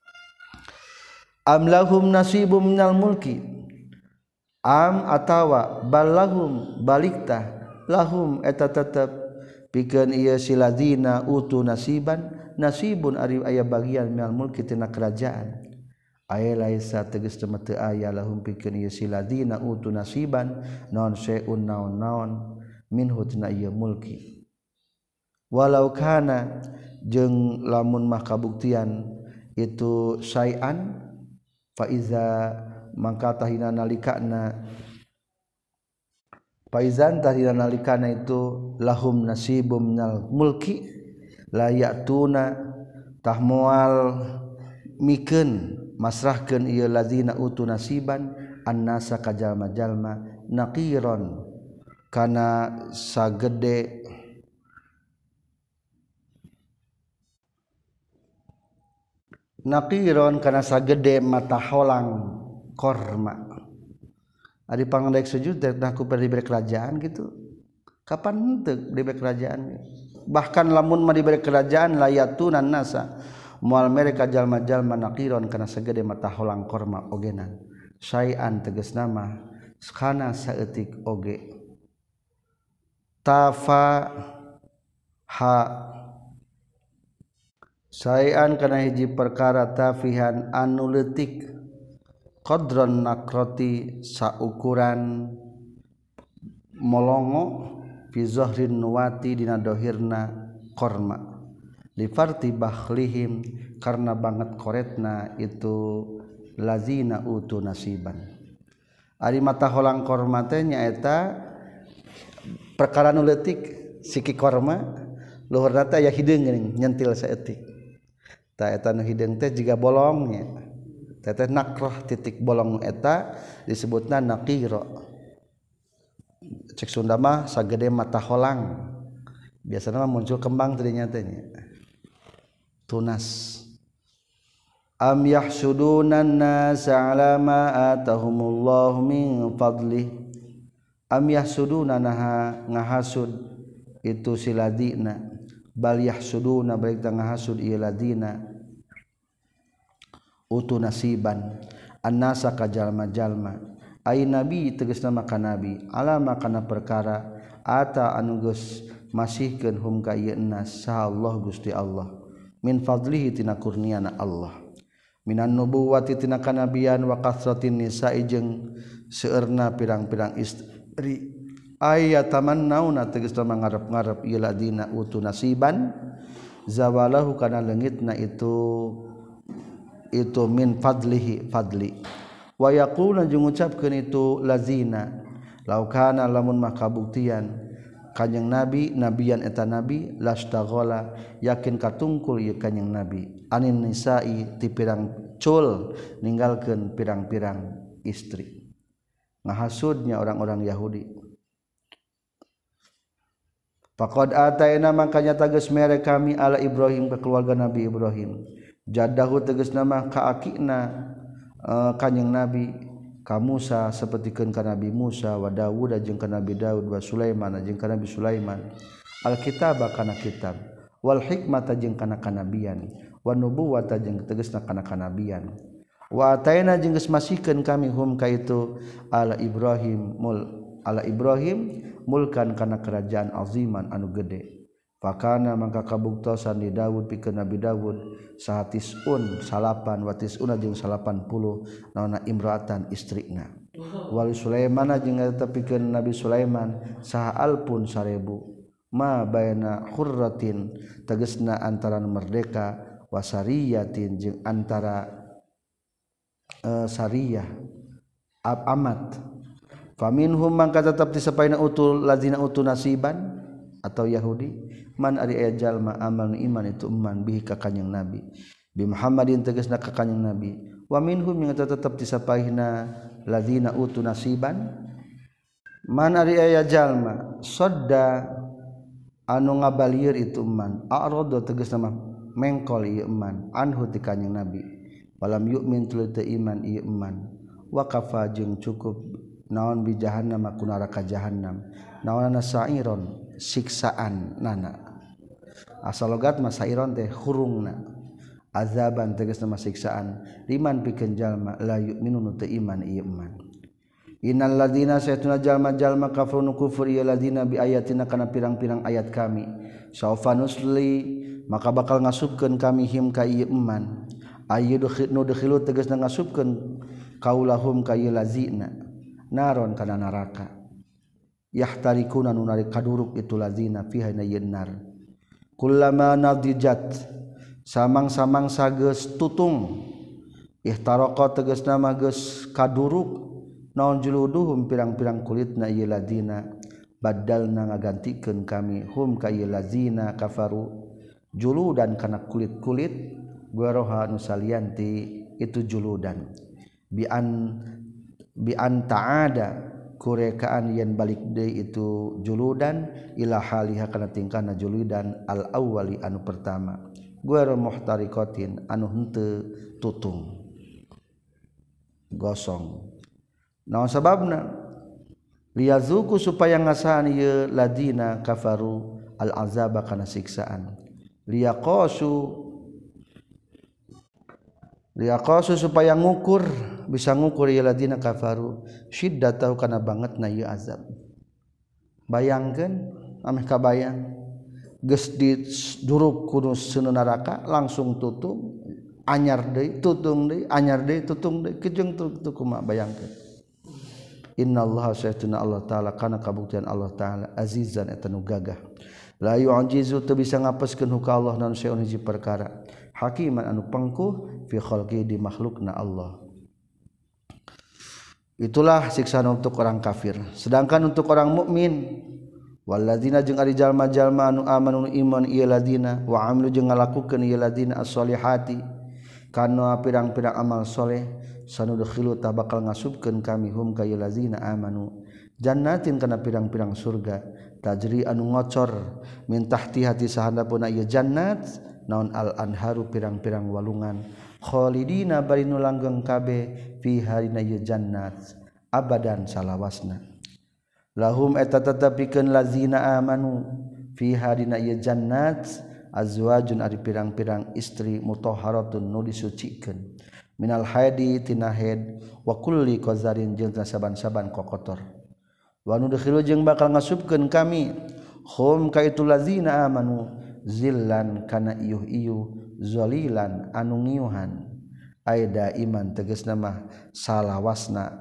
Speaker 1: am lahum nasibum minal mulki am atawa balahum baliktah lahum eta tetep pikeun ieu siladina utu nasiban nasibun ari aya bagian minal mulki tina kerajaan aya laisa tegas teu aya lahum pikeun ieu siladina utu nasiban naon seun naon-naon minhu tina ieu mulki walau kana jeung lamun mah kabuktian itu syai'an fa iza maka tahina nalikana faizan tahina nalikana itu lahum nasibum minal mulki la ya'tuna tahmual mikeun masrahkeun ieu lazina utu nasiban annasa ka jalma-jalma naqiron kana sagede naqiron kana sagede mata holang korma ari pangandek sujud dah ku diberi kerajaan gitu kapan henteu diberi kerajaan bahkan lamun mah diberi kerajaan layatunan nasa mual mereka jalma-jalma naqiron kana sagede mata holang korma ogenan syai'an tegas nama kana saeutik oge tafa ha syai'an kana hiji perkara tafihan anu leutik qadron nakroti saukuran molongo fi zahrin nuwati dina dohirna korma lifarti bakhlihim karena banget koretna itu lazina utu nasiban ari mata holang korma teh nyaeta perkara nu leutik siki korma luhurna teh aya hideung geuning nyentil saeutik ta eta nu hideung teh jiga bolong nya teh teh nakrah titik bolong eta disebutna naqira cek Sunda mah sagede mata holang biasanya mah muncul kembang tadinya tanya tunas am yahsudunan nasa ala ma atahumullahu min fadlih am yahsuduna naha ngahasud itu si ladina bal yahsuduna balik ngahasud ieu ladina utu nasiban annasa ka jalma-jalma ai nabi tegasna maka nabi alama kana perkara ata anu geus masihkeun hum ka ieu nas sa Allah Gusti Allah min fadlihi tina kurniana Allah minan nubuwati tina kanabian wa kasratin nisa'i jeung seueurna pirang-pirang istri ayatamannauna tegasna mangarep-ngarep ieu ladina utu nasiban zawalahu kana leungitna itu itu min fadlihi fadli wa yaquluna jeung ngucapkeun itu lazina laukana lamun mah kabuktian Kanjeng Nabi nabiyan eta nabi lastaghala yakin katungkul ieu kanjeng Nabi anin nisa'i ti pirang cul ninggalkeun pirang-pirang istri ngahasudnya orang-orang Yahudi faqad ataina makanya tegas mere kami ala Ibrahim ke keluarga Nabi Ibrahim jaddahu tegas nama ka akina uh, kanjeng Nabi ka Musa sapertikeun ka Nabi Musa wa Daud jeung ka Nabi Daud wa Sulaiman jeung ka Nabi Sulaiman alkitaba kana kitab wal hikmata jeung kana kanabian wa nubuwata jeung tegasna kana kanabian wa ataina jeung geus masihkeun kami hum ka itu ala Ibrahim mul ala Ibrahim mulkan kana kerajaan aziman anu gede fakana mangka kabuktosan di Daud pikeun Nabi Daud sahatisun salapan watisuna jeung salapan puluh naonna imraatan istrina wali Sulaiman jeung eta pikeun Nabi Sulaiman saha alpun sarebu ma baina khurratin tegasna antara merdeka wasariyatin jeung antara uh, sariyah ab amat faminhum mangka tetep disapaina utul lazina utu nasiban atau Yahudi man ari aya jalma amal iman itu iman bihi ka kanjing Nabi bi Muhammadin tegasna ka kanjing Nabi wa minhum yang tetep disapaihna ladzina utu nasiban man ari aya jalma sadda anu ngabalieur itu iman a'rada tegasna mah mengkol ieu iman anhu ti kanjing Nabi walam yu'min tuluy teu iman ieu iman wa kafa jeung cukup naon bi jahannam ku neraka jahannam naonana sa'iron siksaan nana asal logat mah sairon teh hurungna azaban tegasna mah siksaan liman pikeun jalma la yu'minu nu teu iman ieu iman innal ladzina saytuna jalma-jalma kafaru kufur ieu ladzina bi ayatina kana pirang-pirang ayat kami saufa nusli maka bakal ngasupkeun kami him ka ieu iman ayyudkhinu dkhilu tegasna ngasupkeun kaulahum ka ieu lazina naron kana neraka yahtarikuna nunari kaduruk itu lazina fiha nayyar kullama nadijat samang-samang sageus tutung ihtaraqa tegasna mah geus kaduruk naon juluduhum pirang-pirang kulitna ieu ladina badalna ngagantikeun kami hum ka ieu lazina kafaru juludan kana kulit-kulit gueroha nu salianti itu juludan bi an bi an ta'ada kurekaan yen balik deui itu juludan ila haliha kana tingkahna juludan al awwali anu pertama guero muhtarikotin anu henteu tutung gosong naon sababna liyazuku supaya ngasaan ieu ladina kafaru al azaba kana siksaan liyaqasu liaqasu supaya ngukur bisa ngukur ieu ladina kafaru syiddatahu kana bangetna ieu azab. Bayangkeun ameh kabayang geus diduruk ku seuneu neraka langsung tutung anyar deui tutung deui anyar deui tutung deui kejeung tuh kumaha bayangkeun. Innallaha sayyiduna Allah taala kana kabuktian Allah taala azizan eta nu gagah la yu'jizu teu bisa ngapeskeun ka Allah naon saeun hiji perkara hakiman anu pengkuh fi khalqi di makhlukna Allah. Itulah siksaan untuk orang kafir. Sedangkan untuk orang mukmin, walladzina jeung ari jalma-jalma anu amanu iman ieu ladina wa amilu jeung ngalakukeun ieu ladina as-solihati kana pirang-pirang amal soleh sanudkhilu ta bakal ngasupkeun kami hum ka ieu ladina amanu jannatin kana pirang-pirang surga tajri anu ngocor min tahtiha ti sahandapuna ieu jannat naon al anharu pirang-pirang walungan khalidina bari nu langgeng kabeh fi harina ieu jannat abadan salawasna. Lahum eta tetepikeun lazina amanu fi harina ieu jannat azwajun ari pirang-pirang istri mutahharatun nu disucikeun minal haidi tina haid wa kulli qazarin jeung saban-saban kokotor. Wa nudkhilu jeung bakal ngasupkeun kami hum ka itu lazina amanu zillan kana iyuh-iyuh zalilan anu ngiuhan aida iman tegasna mah salawasna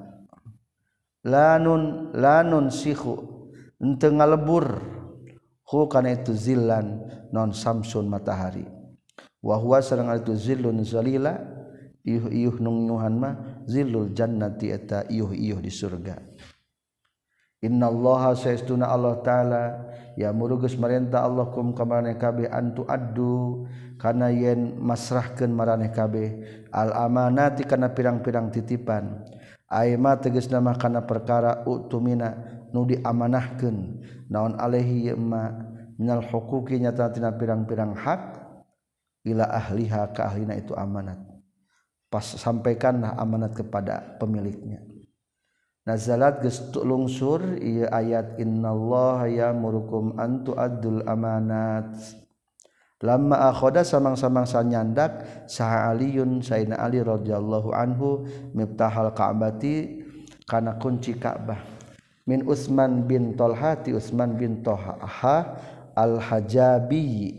Speaker 1: lanun lanun sikhu henteu ngalebur hu kana itu zillan non samsun matahari wa huwa sareng itu zillun zalila iyuh-iyuh nu ngiuhan mah zillul jannati eta iyuh-iyuh di surga. Innallaha saestuna Allah taala ya murugus marentah Allah kum ka maraneh kabeh antu addu kana yen masrahkeun maraneh kabeh al amanati kana pirang-pirang titipan aima tegasna mah kana perkara utumina nu diamanahkeun naon alaihi ma minal huquqi nyata tina pirang-pirang hak ila ahliha ka ahlina itu amanat pas sampaikanlah amanat kepada pemiliknya. Nazalat geus lungsur ieu ayat innallaha ya'murukum an tu'addul amanat lamma akhoda samang-samang sanyandak saha aliyun sayyidina Ali radhiyallahu anhu miftahal ka'bati kana kunci Ka'bah min Utsman bin Talha ti Utsman bin Talha al-Hajabi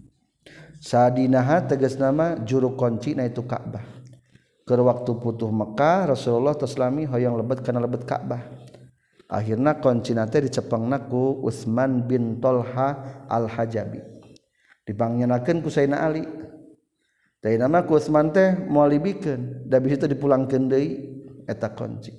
Speaker 1: sadinaha tegasna mah juru kunci na itu Ka'bah. Keur waktu putuh Mekah Rasulullah taslami hoyong lebet kana lebet Ka'bah. Akhirna kuncina teh dicepengna ku Utsman bin Talha al-Hajabi. Dipangnyanakeun ku Sayyidina Ali. Daina mah ku Utsman teh moal libikeun, da bisi teh dipulangkeun deui eta kunci.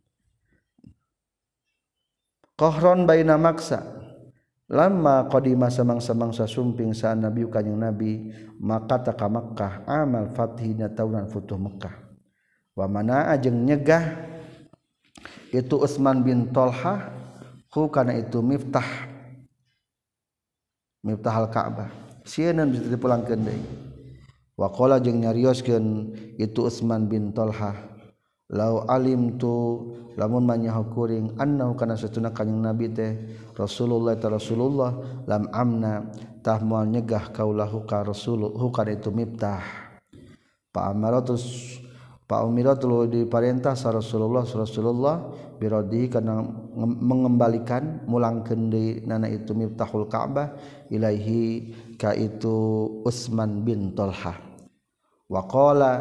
Speaker 1: Qahron baina maksa. Lama qadima samang-samang sasumping sa Nabi kanjing Nabi maka ta ka Makkah amal fathina taunan futuh Makkah. Wa mana jeung nyegah itu Utsman bin Talha hu kana itu miftah miftahal Ka'bah sieun bisa dipulangkeun deui. Wa qala jeung nyarioskeun itu Utsman bin Talha lau alimtu lamun manyaho kuring annahu kana satuna kanjing Nabi teh Rasulullah ta Rasulullah lam amna tah moal nyegah kaulahu ka Rasul hu kana itu miftah pa amaratus pa umiratul diparentah sa Rasulullah Rasulullah biradi kana mengembalikan mulangkeun deui nana itu miftahul Ka'bah ilaihi ka itu Utsman bin Talha wa qala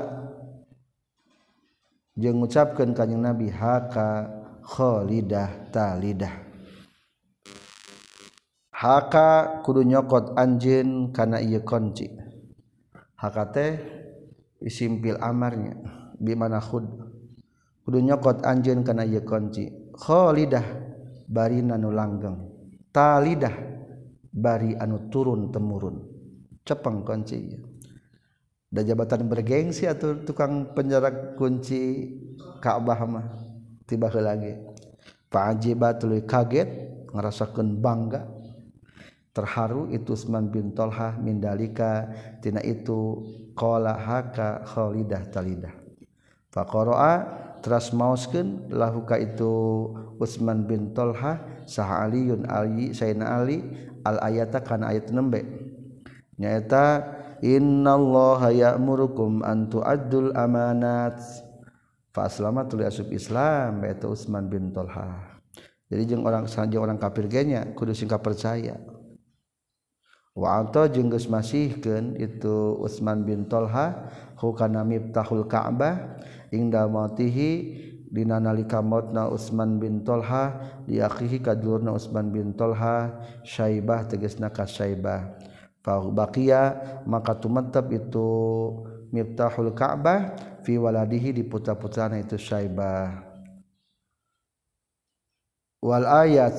Speaker 1: jeung ngucapkeun kanjing Nabi haka khalidah talidah haka kudu nyokot anjeun kana ieu kunci haka teh isimpil amarnya bimana khud kudu nyokot anjeun kana ieu kunci khalidah bari anu langgeng talidah bari anu turun temurun cepeng kunci ieu da jabatan bergengsi atuh tukang penjara kunci Ka'bah mah tiba heula ge fa'ajiba tuluy kaget ngarasakeun bangga terharu itu Utsman bin Talha min dalika tina itu qala haka khalidah talidah faqara'a teras maoskeun lahu ka itu Utsman bin Talha saha Aliyun Ali Sayyidina Ali al ayata kana ayat nembe nyaeta innallaha ya'murukum an tu'addul amanat fa aslama tuluy asup Islam eta Utsman bin Thalhah. Jadi jeung orang saja orang kafir ge nya kudu sing percaya. Wa ata jeung geus masihkeun itu Utsman bin Thalhah hukana miftahul Ka'bah ingda mautihi dina nalika mautna Utsman bin Thalhah di akhihi kadulurna Utsman bin Thalhah Syaibah tegasna ka Syaibah fa baqiya maka tumatab itu miftahul Ka'bah fi waladihi di putra-putrana itu Syaibah. Wal ayat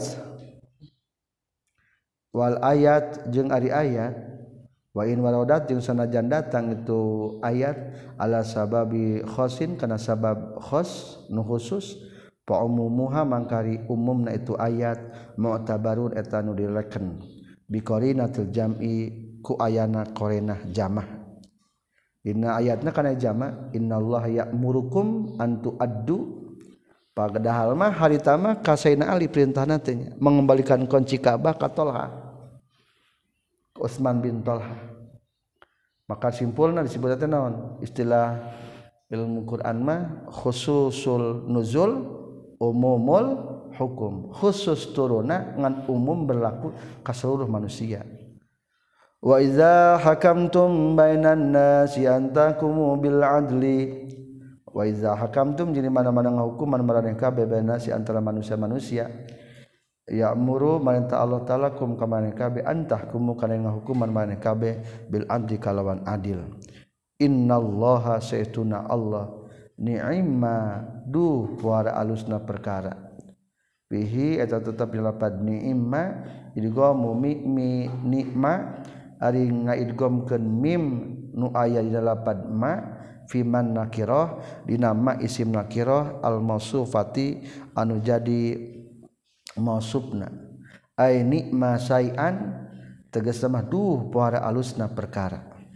Speaker 1: wal ayat jeung ari ayat wa in waradat jeung sanajan datang itu ayat ala sababi khosin kana sabab khos nu khusus fa umumuha mangkari umumna itu ayat mu'tabarun eta nu dileken bi qarinatil jam'i ku ayana qarinah jamah dina ayatna kana jamah innallaha ya'murukum an tu'addu padahal mah harita mah ka Sayyidina Ali perintahna teh mengembalikan kunci Ka'bah ka Thalhah Utsman bin Thalhah. Maka simpulna disebut teh naon istilah ilmu Quran mah khususul nuzul umumul hukum khusus turuna ngan umum berlaku ka seluruh manusia. Wa iza hakamtum bainan nasi antakumu bil adli wa iza hakamtum jadi mana-mana ngahukuman maraneh kabeh baina si antara manusia-manusia ya'muru marintah Allah taala kum ka maneh kabeh antahkumu kana ngahukuman maneh kabeh bil adli kalawan adil innallaha sayyiduna Allah ni'ma duh wara alusna perkara bihi eta tetep dilapad ni'ma idghamu mi mi nikma ari ngaidghamkeun mim nu aya di lapad ma fiman nakirah dina ma isim nakirah al mausufati anu jadi mausufna ai nikma sai'an tegasna mah duh pohara alusna perkara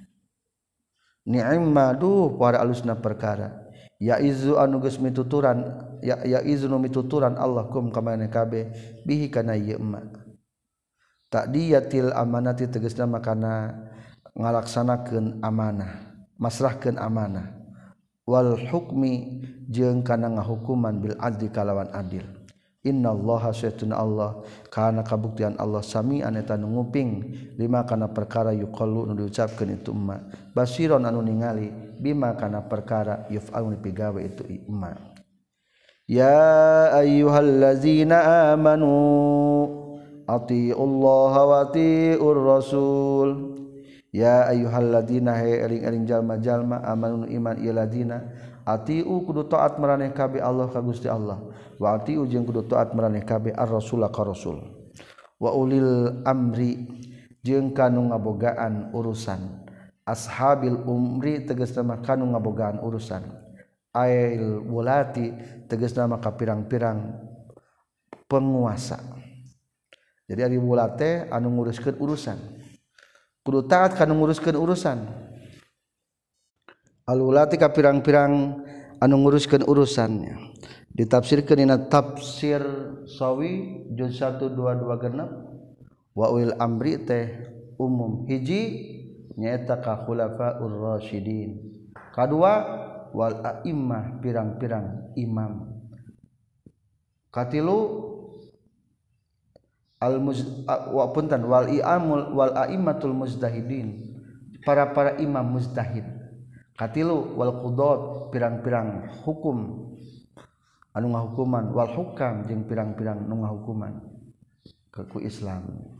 Speaker 1: ni'ma duh pohara alusna perkara ya izu anu geus mituturan ya ya izu nu mituturan Allah kum ka maneh kabeh bihi kana ieu ma ta'diyatil amanati tegasna mah kana ngalaksanakeun amanah masrahkeun amanah wal hukmi jeung kana ngahukuman bil adli kalawan adil innallaha sayyiduna Allah kana kabuktian Allah sami'an eta nu nguping lima kana perkara yuqallu nu diucapkeun itu umma basiron anu ningali bima kana perkara yuf'alun dipigawe itu umma ya ayyuhallazina amanu atiullaha wa atiur rasul ya ayyuhalladzina he eling-eling jalma-jalma amanu iman ieu ladina atiu kudu taat maraneh kabeh Allah ka Gusti Allah wa atiu jeung kudu taat maraneh kabeh ar-rasul ka rasul wa ulil amri jeung kanu ngabogaan urusan ashabil umri tegasna mah kanu ngabogaan urusan ail wulati tegasna mah ka pirang-pirang penguasa jadi ari wulate anu nguruskeun urusan kudu taat kana nguruskeun urusan alulati ka pirang-pirang anu nguruskeun urusannya ditafsirkeun dina tafsir sawi juz satu dua dua genep wa wil amri teh umum hiji nyaeta ka khulafaur rasyidin kadua wal a'immah pirang-pirang imam katilu al wa puntan wal i'amul wal a'immatul mujtahidin para-para imam mujtahid katilu wal qudat pirang-pirang hukum anu ngahukuman wal hukam jeung pirang-pirang nu ngahukuman ku Islam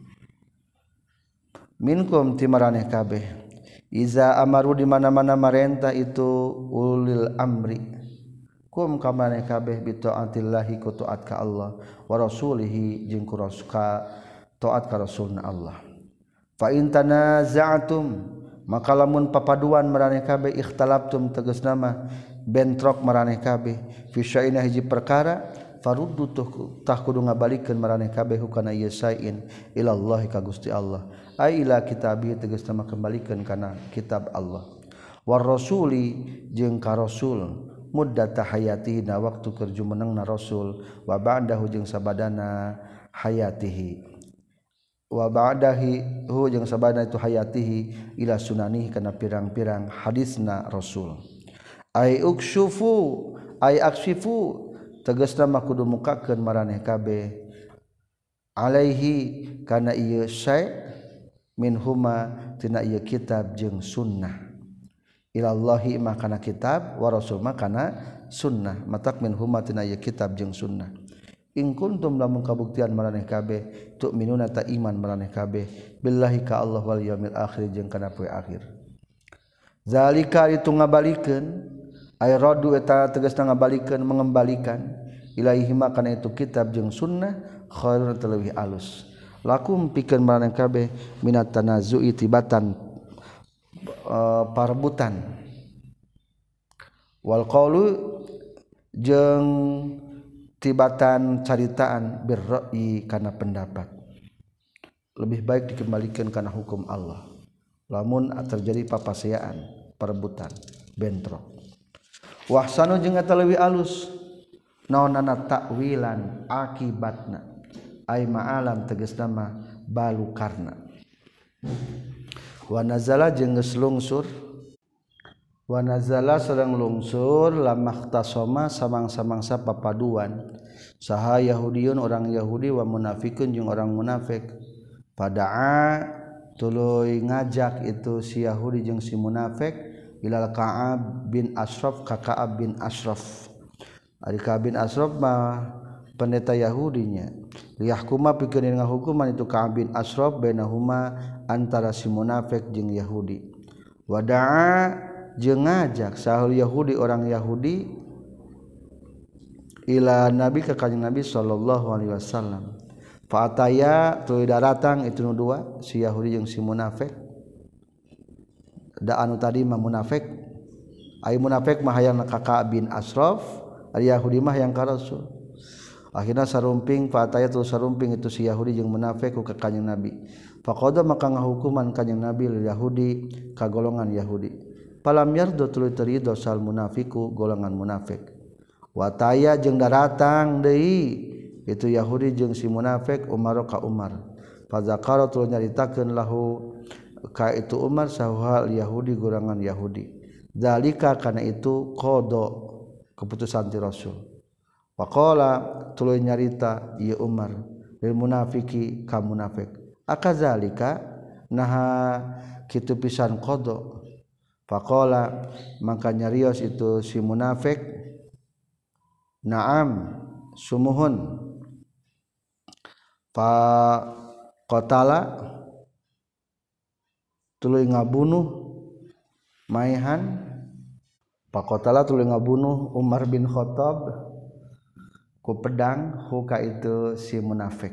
Speaker 1: minkum timaraneh kabeh iza amaru di mana-mana marentah itu ulil amri kum kamane kabeh bi taatillahi ku taat ka Allah wa rasulihi jeung ku rasul taat ka rasulna Allah fa in tanaza'tum maka lamun papaduan maraneh kabeh ikhtalaftum tegasna mah bentrok maraneh kabeh fi syai'in hiji perkara faruddu tah kudu ngabalikeun maraneh kabeh hukana ieu syai'in ila Allah ka Gusti Allah ai ila kitabi tegasna mah kembalikeun kana kitab Allah war rasuli jeung ka rasul muddata hayatihi na waktu keur jumenengna rasul wa ba'dahu jeung sabadana hayatihi wa ba'dahi hu jeung sabana itu hayatihi ila sunanihi kana pirang-pirang hadisna Rasul ai ukshufu ai akshifu tegasna mah kudu mukakeun maraneh kabeh alaihi kana ieu syai' min huma tina ieu kitab jeung sunnah ilallahi mah kana kitab wa rasul mah kana sunnah matak min huma tina ieu kitab jeung sunnah in kuntum lamun kabuktian maraneh kabeh tu'minuna ta iman maraneh kabeh billahi ka Allah wal yaumil akhir jeung kana poe akhir zalika itu ngabalikeun ay radu eta tegasna ngabalikeun mengembalikan ilaihi ma kana itu kitab jeung sunnah khairun taleuwih alus lakum pikeun maraneh kabeh minat tanazu'i tibatan uh, parebutan wal qaulu jeung tibatan caritaan birra'i kana pendapat lebih baik dikembalikan kana hukum Allah lamun terjadi papaseaan perebutan bentrok wahsanu jeung eta leuwih alus naonana takwilan akibatna ai ma'alan tegasna mah balukarna wa nazala jeung geus lungsur wa nazala sareng lungsur lamakhtasama samang-samangsa papaduan saha yahudiyun orang yahudi wa munafikun jeung orang munafik pada'a tuluy ngajak itu si yahudi jeung si munafik ilal Ka'ab bin Ashraf ka Ka'ab bin Ashraf ari Ka'ab bin Ashraf mah pendeta yahudinya liyahkuma pikeun ngahukuman itu Ka'ab bin Ashraf bainahuma antara si munafik jeung yahudi wada'a jeung ngajak sahul Yahudi orang Yahudi ila Nabi ka kanjing Nabi sallallahu alaihi wasallam fa ataya tuluy datang itu nu dua si Yahudi jeung si munafik da anu tadi mah munafik ai munafik mah hayang ka Ka'ab bin Ashraf ari Yahudi mah hayang ka Rasul akhirna sarumping fa ataya tuluy sarumping itu si Yahudi jeung munafik ka kanjing Nabi faqada maka ngahukuman kanjing Nabi lil Yahudi ka golongan Yahudi palam yardo tuluy terido sal munafiku golongan munafik wataya jeung daratang deui itu Yahudi jeung si munafik Umar ka Umar fazakara tuluy nyaritakeun lahu ka itu Umar sahal Yahudi golongan Yahudi zalika kana itu qada keputusan ti Rasul waqala tuluy nyarita ieu Umar lil munafiki ka munafik akazalika naha kitu pisan qada faqala maka nyarios itu si munafik na'am sumuhun fa qatala tuluy ngabunuh maihan fa qatala tuluy ngabunuh Umar bin Khattab ku pedang huka itu si munafik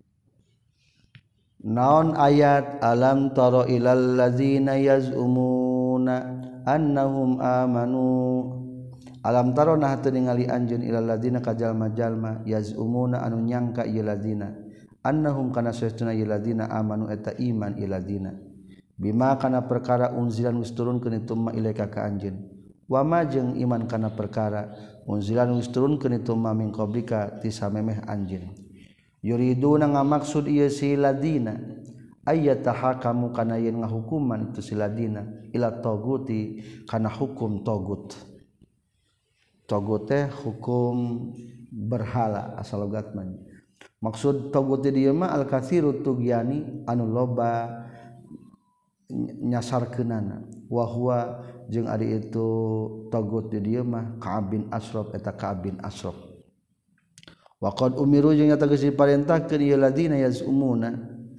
Speaker 1: naon ayat alam tara ilal ladzina yaz'umuna annahum amanu alam tara nah teu ningali anjeun ilal ladzina ka jalma-jalma yaz'umuna anu nyangka ieu ladzina annahum kana saestuna ieu ladzina amanu eta iman ieu ladzina bima kana perkara unzilan geus turunkeun itu ma ilaika ka anjeun wa ma jeung iman kana perkara unzilan geus turunkeun itu ma min qablika ti samemeh anjeun yuriduna ngamaksud ieu si ladina ayyatahakamu kana yen ngahukuman itu si ladina ila taguti kana hukum tagut tagut teh hukum berhala asal logatna maksud tagut dieu mah al katsiru tugyani anu loba nyasarkeunana wa huwa jeung ari itu tagut dieu mah Ka'ab bin Ashraf eta Ka'ab bin Ashraf wa qad umiru jeung nyata geus diparentahkeun ieu ladina yazumuna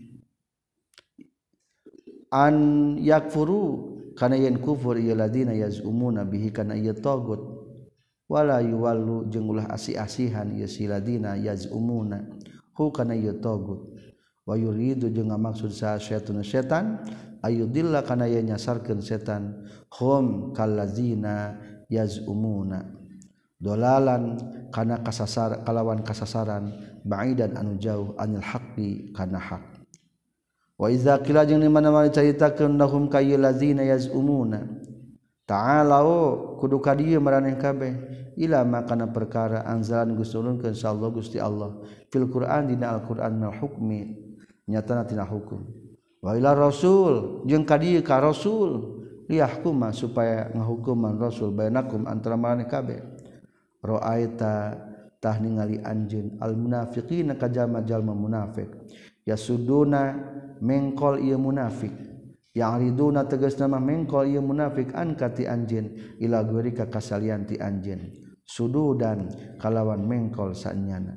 Speaker 1: an yakfuru kana yen kufur ieu ladina yazumuna bihi kana ieu tagut wala yuwallu jeung ulah asih-asihan ieu si ladina yazumuna hu kana ieu tagut wa yuridu jeung ngamaksud sa syaitan setan ayudilla kana yen nyasarkeun setan hum kallazina yazumuna dolalan kana kasasar kalawan kasasaran ba'idan anu jauh anil haqqi kana hak wa iza qila jeung di mana-mana caritakeun lahum kayyul ladzina yazumuna ta'alau kudu ka dieu maraneh kabeh ila makana perkara anzalan Gusti turunkeun sallallahu Gusti Allah fil Qur'an dina Al-Qur'an al hukmi nyatana tina hukum wa ila rasul jeung ka dieu ka rasul liyahkuma supaya ngahukuman rasul bainakum antara maneh kabeh ra'aita tah ningali anjeun al munafiqina ka jalma-jalma munafik yasuduna mengkol ieu munafik ya'riduna tegasna mah mengkol ieu munafik an kati anjeun ila ghairi ka kasalian ti anjeun sududan kalawan mengkol saenyana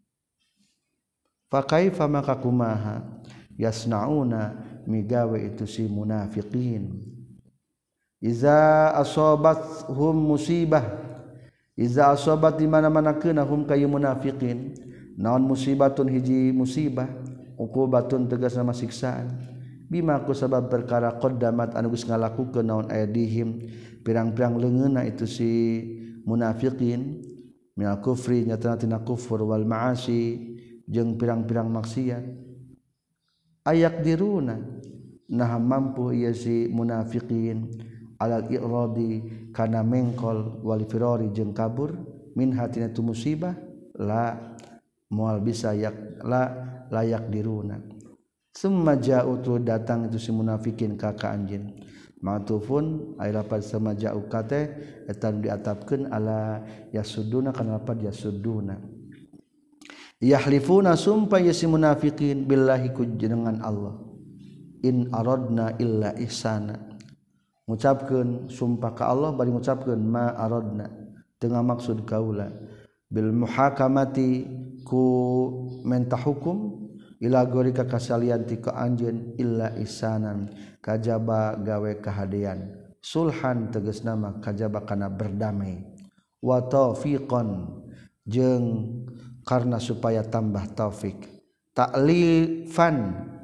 Speaker 1: fa kaifa maka kumaha yasnauna migawe itu si munafiqin iza asobathum musibah iza asobat di mana-mana keuna hum kayu munafiqin naon musibatun hiji musibah uqubatun tegasna siksaan bima ku sabab perkara qaddamat anu geus ngalakukeun naon aydihim pirang-pirang leungeunna itu si munafiqin minal kufri nyatana tina kufur wal ma'asi jeung pirang-pirang maksiat ayak diruna nah mampu ieu si munafiqin alal i'radi kana mengkol wal firari jeung kabur min hatina tu musibah la moal bisa yak la layak diruna summa ja'u tu datang itu si munafikin ka ka anjeun ma'tufun ay lapad sama ja'u kate eta diatapkeun ala yasuduna kana lapad yasuduna yahlifuna sumpah ya si munafikin billahi ku jenengan Allah in aradna illa ihsana ngucapkeun sumpah ka Allah bari ngucapkeun ma aradna tengah maksud kaula bil muhakamati ku mentah hukum ila gorika kasalian ti ka anjeun illa ihsanan kajaba gawe kahadean sulhan tegasna mah kajaba kana berdamai wa taufiqan jeung karena supaya tambah taufik ta'lifan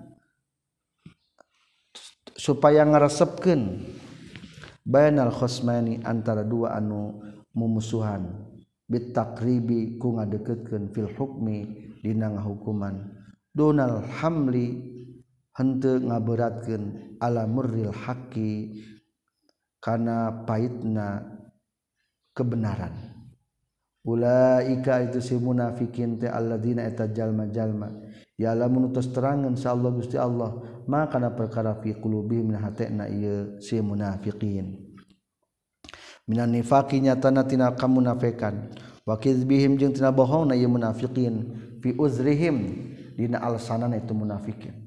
Speaker 1: supaya ngaresepkeun bainal khosmani antara dua anu mumusuhan bitaqribi ku ngadeukeutkeun fil hukmi dina ngahukuman dunal hamli henteu ngaberatkeun ala murril haqqi kana pahitna kebenaran ulaika itu si munafikin teh alladzina eta jalma-jalma ya lamun utus terangeun insyaallah Gusti Allah maka kana perkara fi qulubihim min hatena ieu si munafiqin minan nifaqi nyatana tina kamunafikan wa kizbihim jeung tina bohongna ieu munafiqin fi uzrihim dina alsanana itu munafikin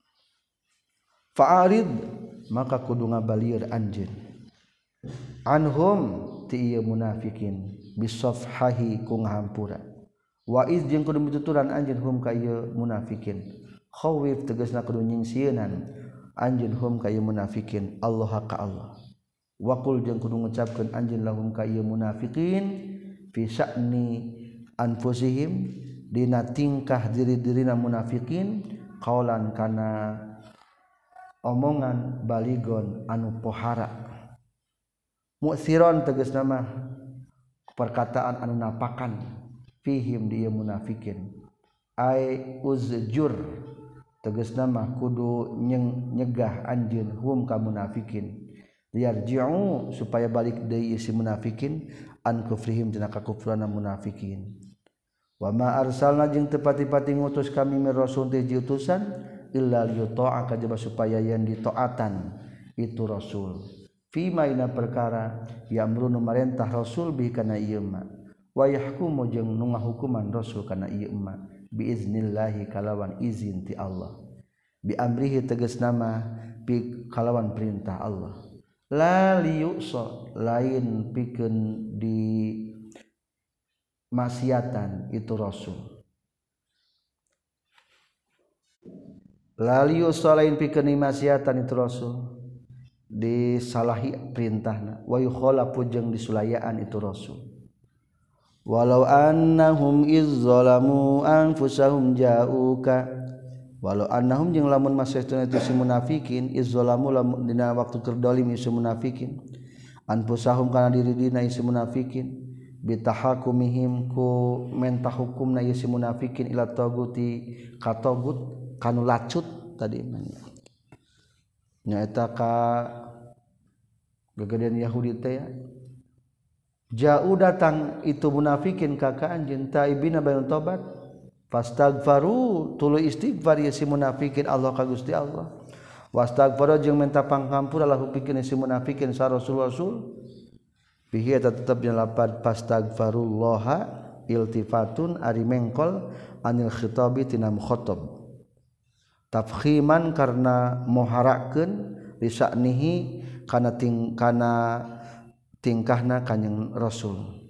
Speaker 1: fa'arid maka kudu ngabalieur anjeun anhum ti ieu munafikin bisafhahi ku ngahampura wa iz jeung kudu mituturan anjeun hum ka ieu munafikin khawif tegasna kudu nyingsieun anjeun hum ka ieu munafikin Allah ka Allah wa qul jeung kudu ngucapkeun anjeun lahum ka ieu munafikin fi sya'ni anfusihim dina tingkah diri-dirina munafikin qaulan kana omongan baligon anu pohara mu'siron tegasna mah perkataan anu napakan fihim dia munafikin ai uzjur tegasna mah kudu nyegah anjeun hum ka munafikin yarji'u supaya balik deui si munafikin an kufrihim tina kakufrana munafikin wa ma arsalna jeung teu pati-pati ngutus kami mir rasul teh utusan illa liyuta'a kajaba supaya yen ditaatan itu rasul fi maina perkara yamrunu marentah rasul bi kana ieu ma wa yahkumu jeung nu ngahukuman rasul kana ieu ma biiznillahi kalawan izin ti Allah bi amrihi tegasna mah bi kalawan perintah Allah la liyusa lain pikeun di maksiatan itu rasul la liyusa lain pikeun di maksiatan itu rasul disalahi perintahna wa yukhalafu jeung disulayaan itu rasul walau annahum izzalamu anfusahum ja'uka walau annahum jeung lamun masehna itu si munafikin izzalamu lamun dina waktu keur dolim si munafikin anfusahum kana diri-dirina si munafikin bitahakumihim ku mentah hukumna si munafikin ila taguti ka tagut kanu lacut tadi nyaeta ka gegedean Yahudi teh jauh datang itu munafikin ka ka anjeun taibina bayan tobat Fastagfaru tuluy istighfar ieu si munafikin Allah ka Gusti Allah. Wastagfara jeung minta pangampura lahu pikeun si munafikin sa Rasul Rasul. Bihi eta tetepna lapad fastagfarullaha iltifatun ari mengkol anil khitabi tina mukhatab. Tafkhiman karna moharakeun lisa'nihi kana ting kana tingkahna kanjing Rasul.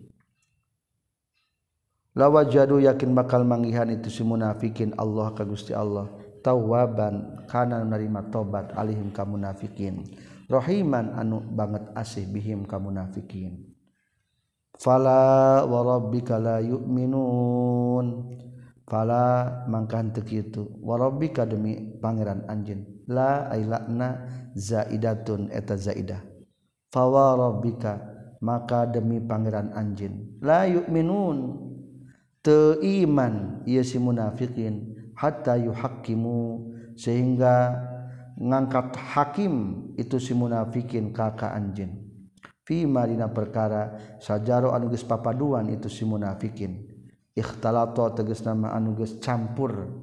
Speaker 1: Lawajadu yakin bakal manggihan itu si munafikin Allah ka Gusti Allah tawwaban kana narima tobat alihim ka munafikin rahiman anu banget asih bihim ka munafikin. Fala wa rabbika la yu'minun fala mangkan teu kitu wa rabbika demi pangeran anjeun la ailana zaidatun eta zaidah fa wa rabbika maka demi pangeran anjeun la yu'minun teu iman ieu si munafikin hatta yuhaqqimu sehingga ngangkat hakim itu si munafikin ka ka anjeun fi marina perkara sajaro anu geus papaduan itu si munafikin ikhtalato tegasna ma anu geus campur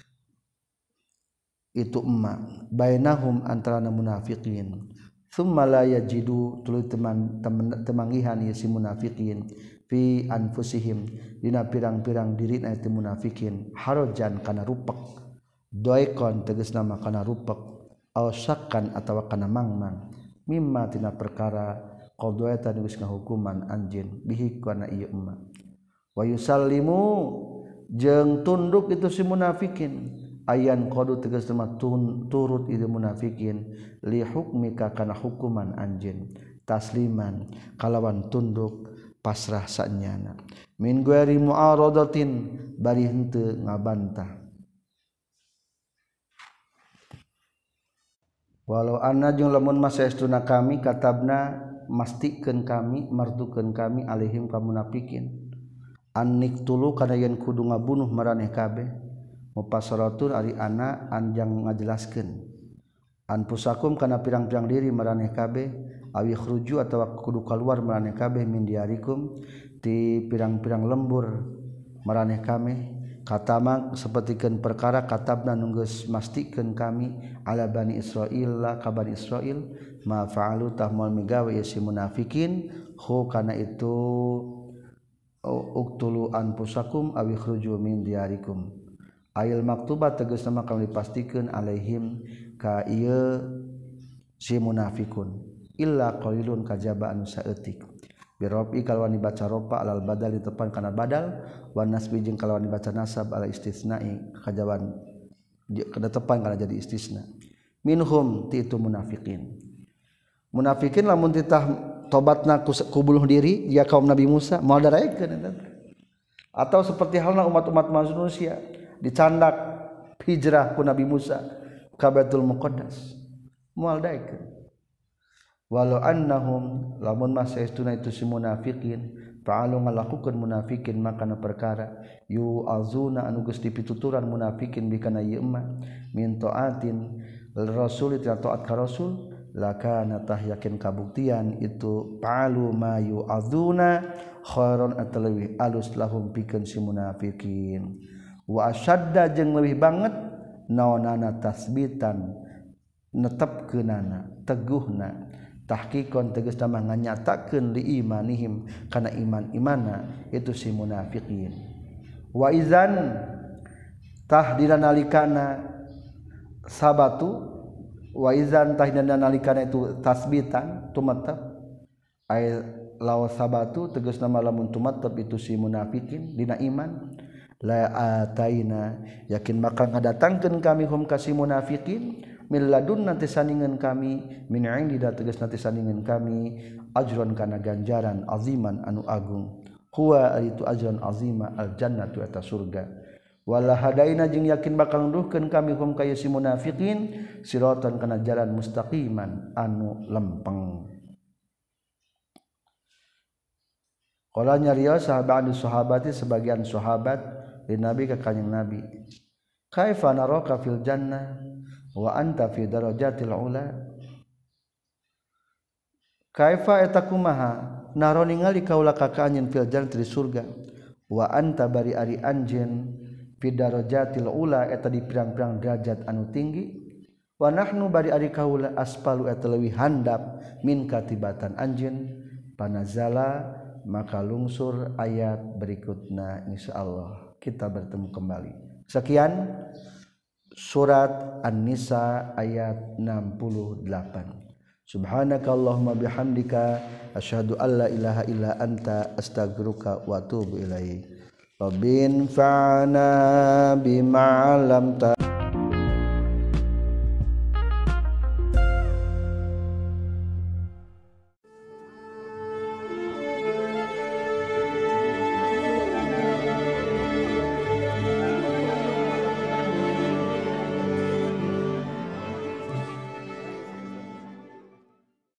Speaker 1: itu emma bainahum antara munafikin thumma la yajidu tuluy teman temanggihan ieu si munafikin fi anfusihim dina pirang-pirang dirina itu munafikin harajan kana rupek doikon tegasna mah kana rupek aw syakkan atawa kana mangmang mimma tina perkara qadwaita geus ngahukuman anjeun bihi kana ieu emma wa yusallimu jeung tunduk itu si munafikin ayan qadu tegasna mah turut itu munafikin li hukmika kana hukuman anjeun tasliman kalawan tunduk pasrah sanyana min ghairi mu'aradatin bari henteu ngabantah walau anna jeung lamun masaestuna kami katabna mastikeun kami mardukeun kami alaihim ka munafikin annik tulu kana yen kudu ngabunuh maraneh kabeh mufassaratul ari ana anjang ngajelaskeun anfusakum kana pirang-pirang diri maraneh kabeh awi khruju atawa kudu kaluar maraneh kabeh min diarikum ti pirang-pirang lembur maraneh kami katama sapertikeun perkara katabna nu geus mastikeun kami ala bani Israil la ka bani Israil ma fa'alu tahmal migawe si munafikin hu kana itu uktulu anfusakum awi khruju min diarikum ayil maktubat tegasna mah kami dipastikeun alaihim ka ieu si munafikun illa qalilun kajaba anu saeutik birobi kalawan dibaca ropa alal badal ditepan kana badal wan nasbi jeung kalawan dibaca nasab ala istisna'i kajaban kada tepan kana jadi istisna minhum ti itu munafikin munafikin lamun titah tobatna ku bunuh diri dia kaum Nabi Musa moal daraekeun atau seperti halna umat-umat manusia dicandak hijrah ku Nabi Musa ka Baitul Muqaddas moal daekeun walau annahum lamun masaestuna itu si munafikin fa'alu ngalakukeun munafikin makana perkara yu azuna anu geus dipituturan munafikin bikana ieu emma min taatin rasul ita taat ka rasul lakana tah yakin kabuktian itu fa'alu ma yu azuna khairon atalwi alus lahum pikeun si munafikin wa asyadda jeung leuwih banget naonana tasbitan netepkeunana teguhna tahqiqon tegasna mah nganyatakeun li imanihim kana iman-imana itu si munafiqin wa izan tah dina nalikana sabatu wa izan tah dina nalikana itu tasbitan tumatab ay law sabatu tegasna mah lamun tumatab itu si munafiqin dina iman la ataina yakin maka ngadatangkeun kami hum ka si munafiqin min ladun nanti sandingan kami min indi da tegas nanti sandingan kami ajron kana ganjaran aziman anu agung huwa itu ajron azima al jannatu eta surga wala hadaina jeung yakin bakal nduhkeun kami hum ka si munafiqin siratan kana jalan mustaqiman anu lempeng qala nyarios sahabat sahabati sebagian sahabat di nabi ka kanjing nabi kaifa naraka fil jannah wa anta fi darajatil ula kaifa eta kumaha naro ningali kaula ka anjeun fil jannati di surga wa anta bari ari anjeun fi darajatil ula eta di pirang-pirang derajat anu tinggi wa nahnu bari ari kaula aspalu eta leuwih handap min katibatan anjeun panazala maka lungsur ayat berikutna insyaallah kita bertemu kembali. Sekian surat An-Nisa ayat enam puluh delapan. Subhanakallahumma bihamdika asyhadu an la ilaha illa anta astaghfiruka wa atubu ilaik. Rabbin fa'ana bima 'allamtana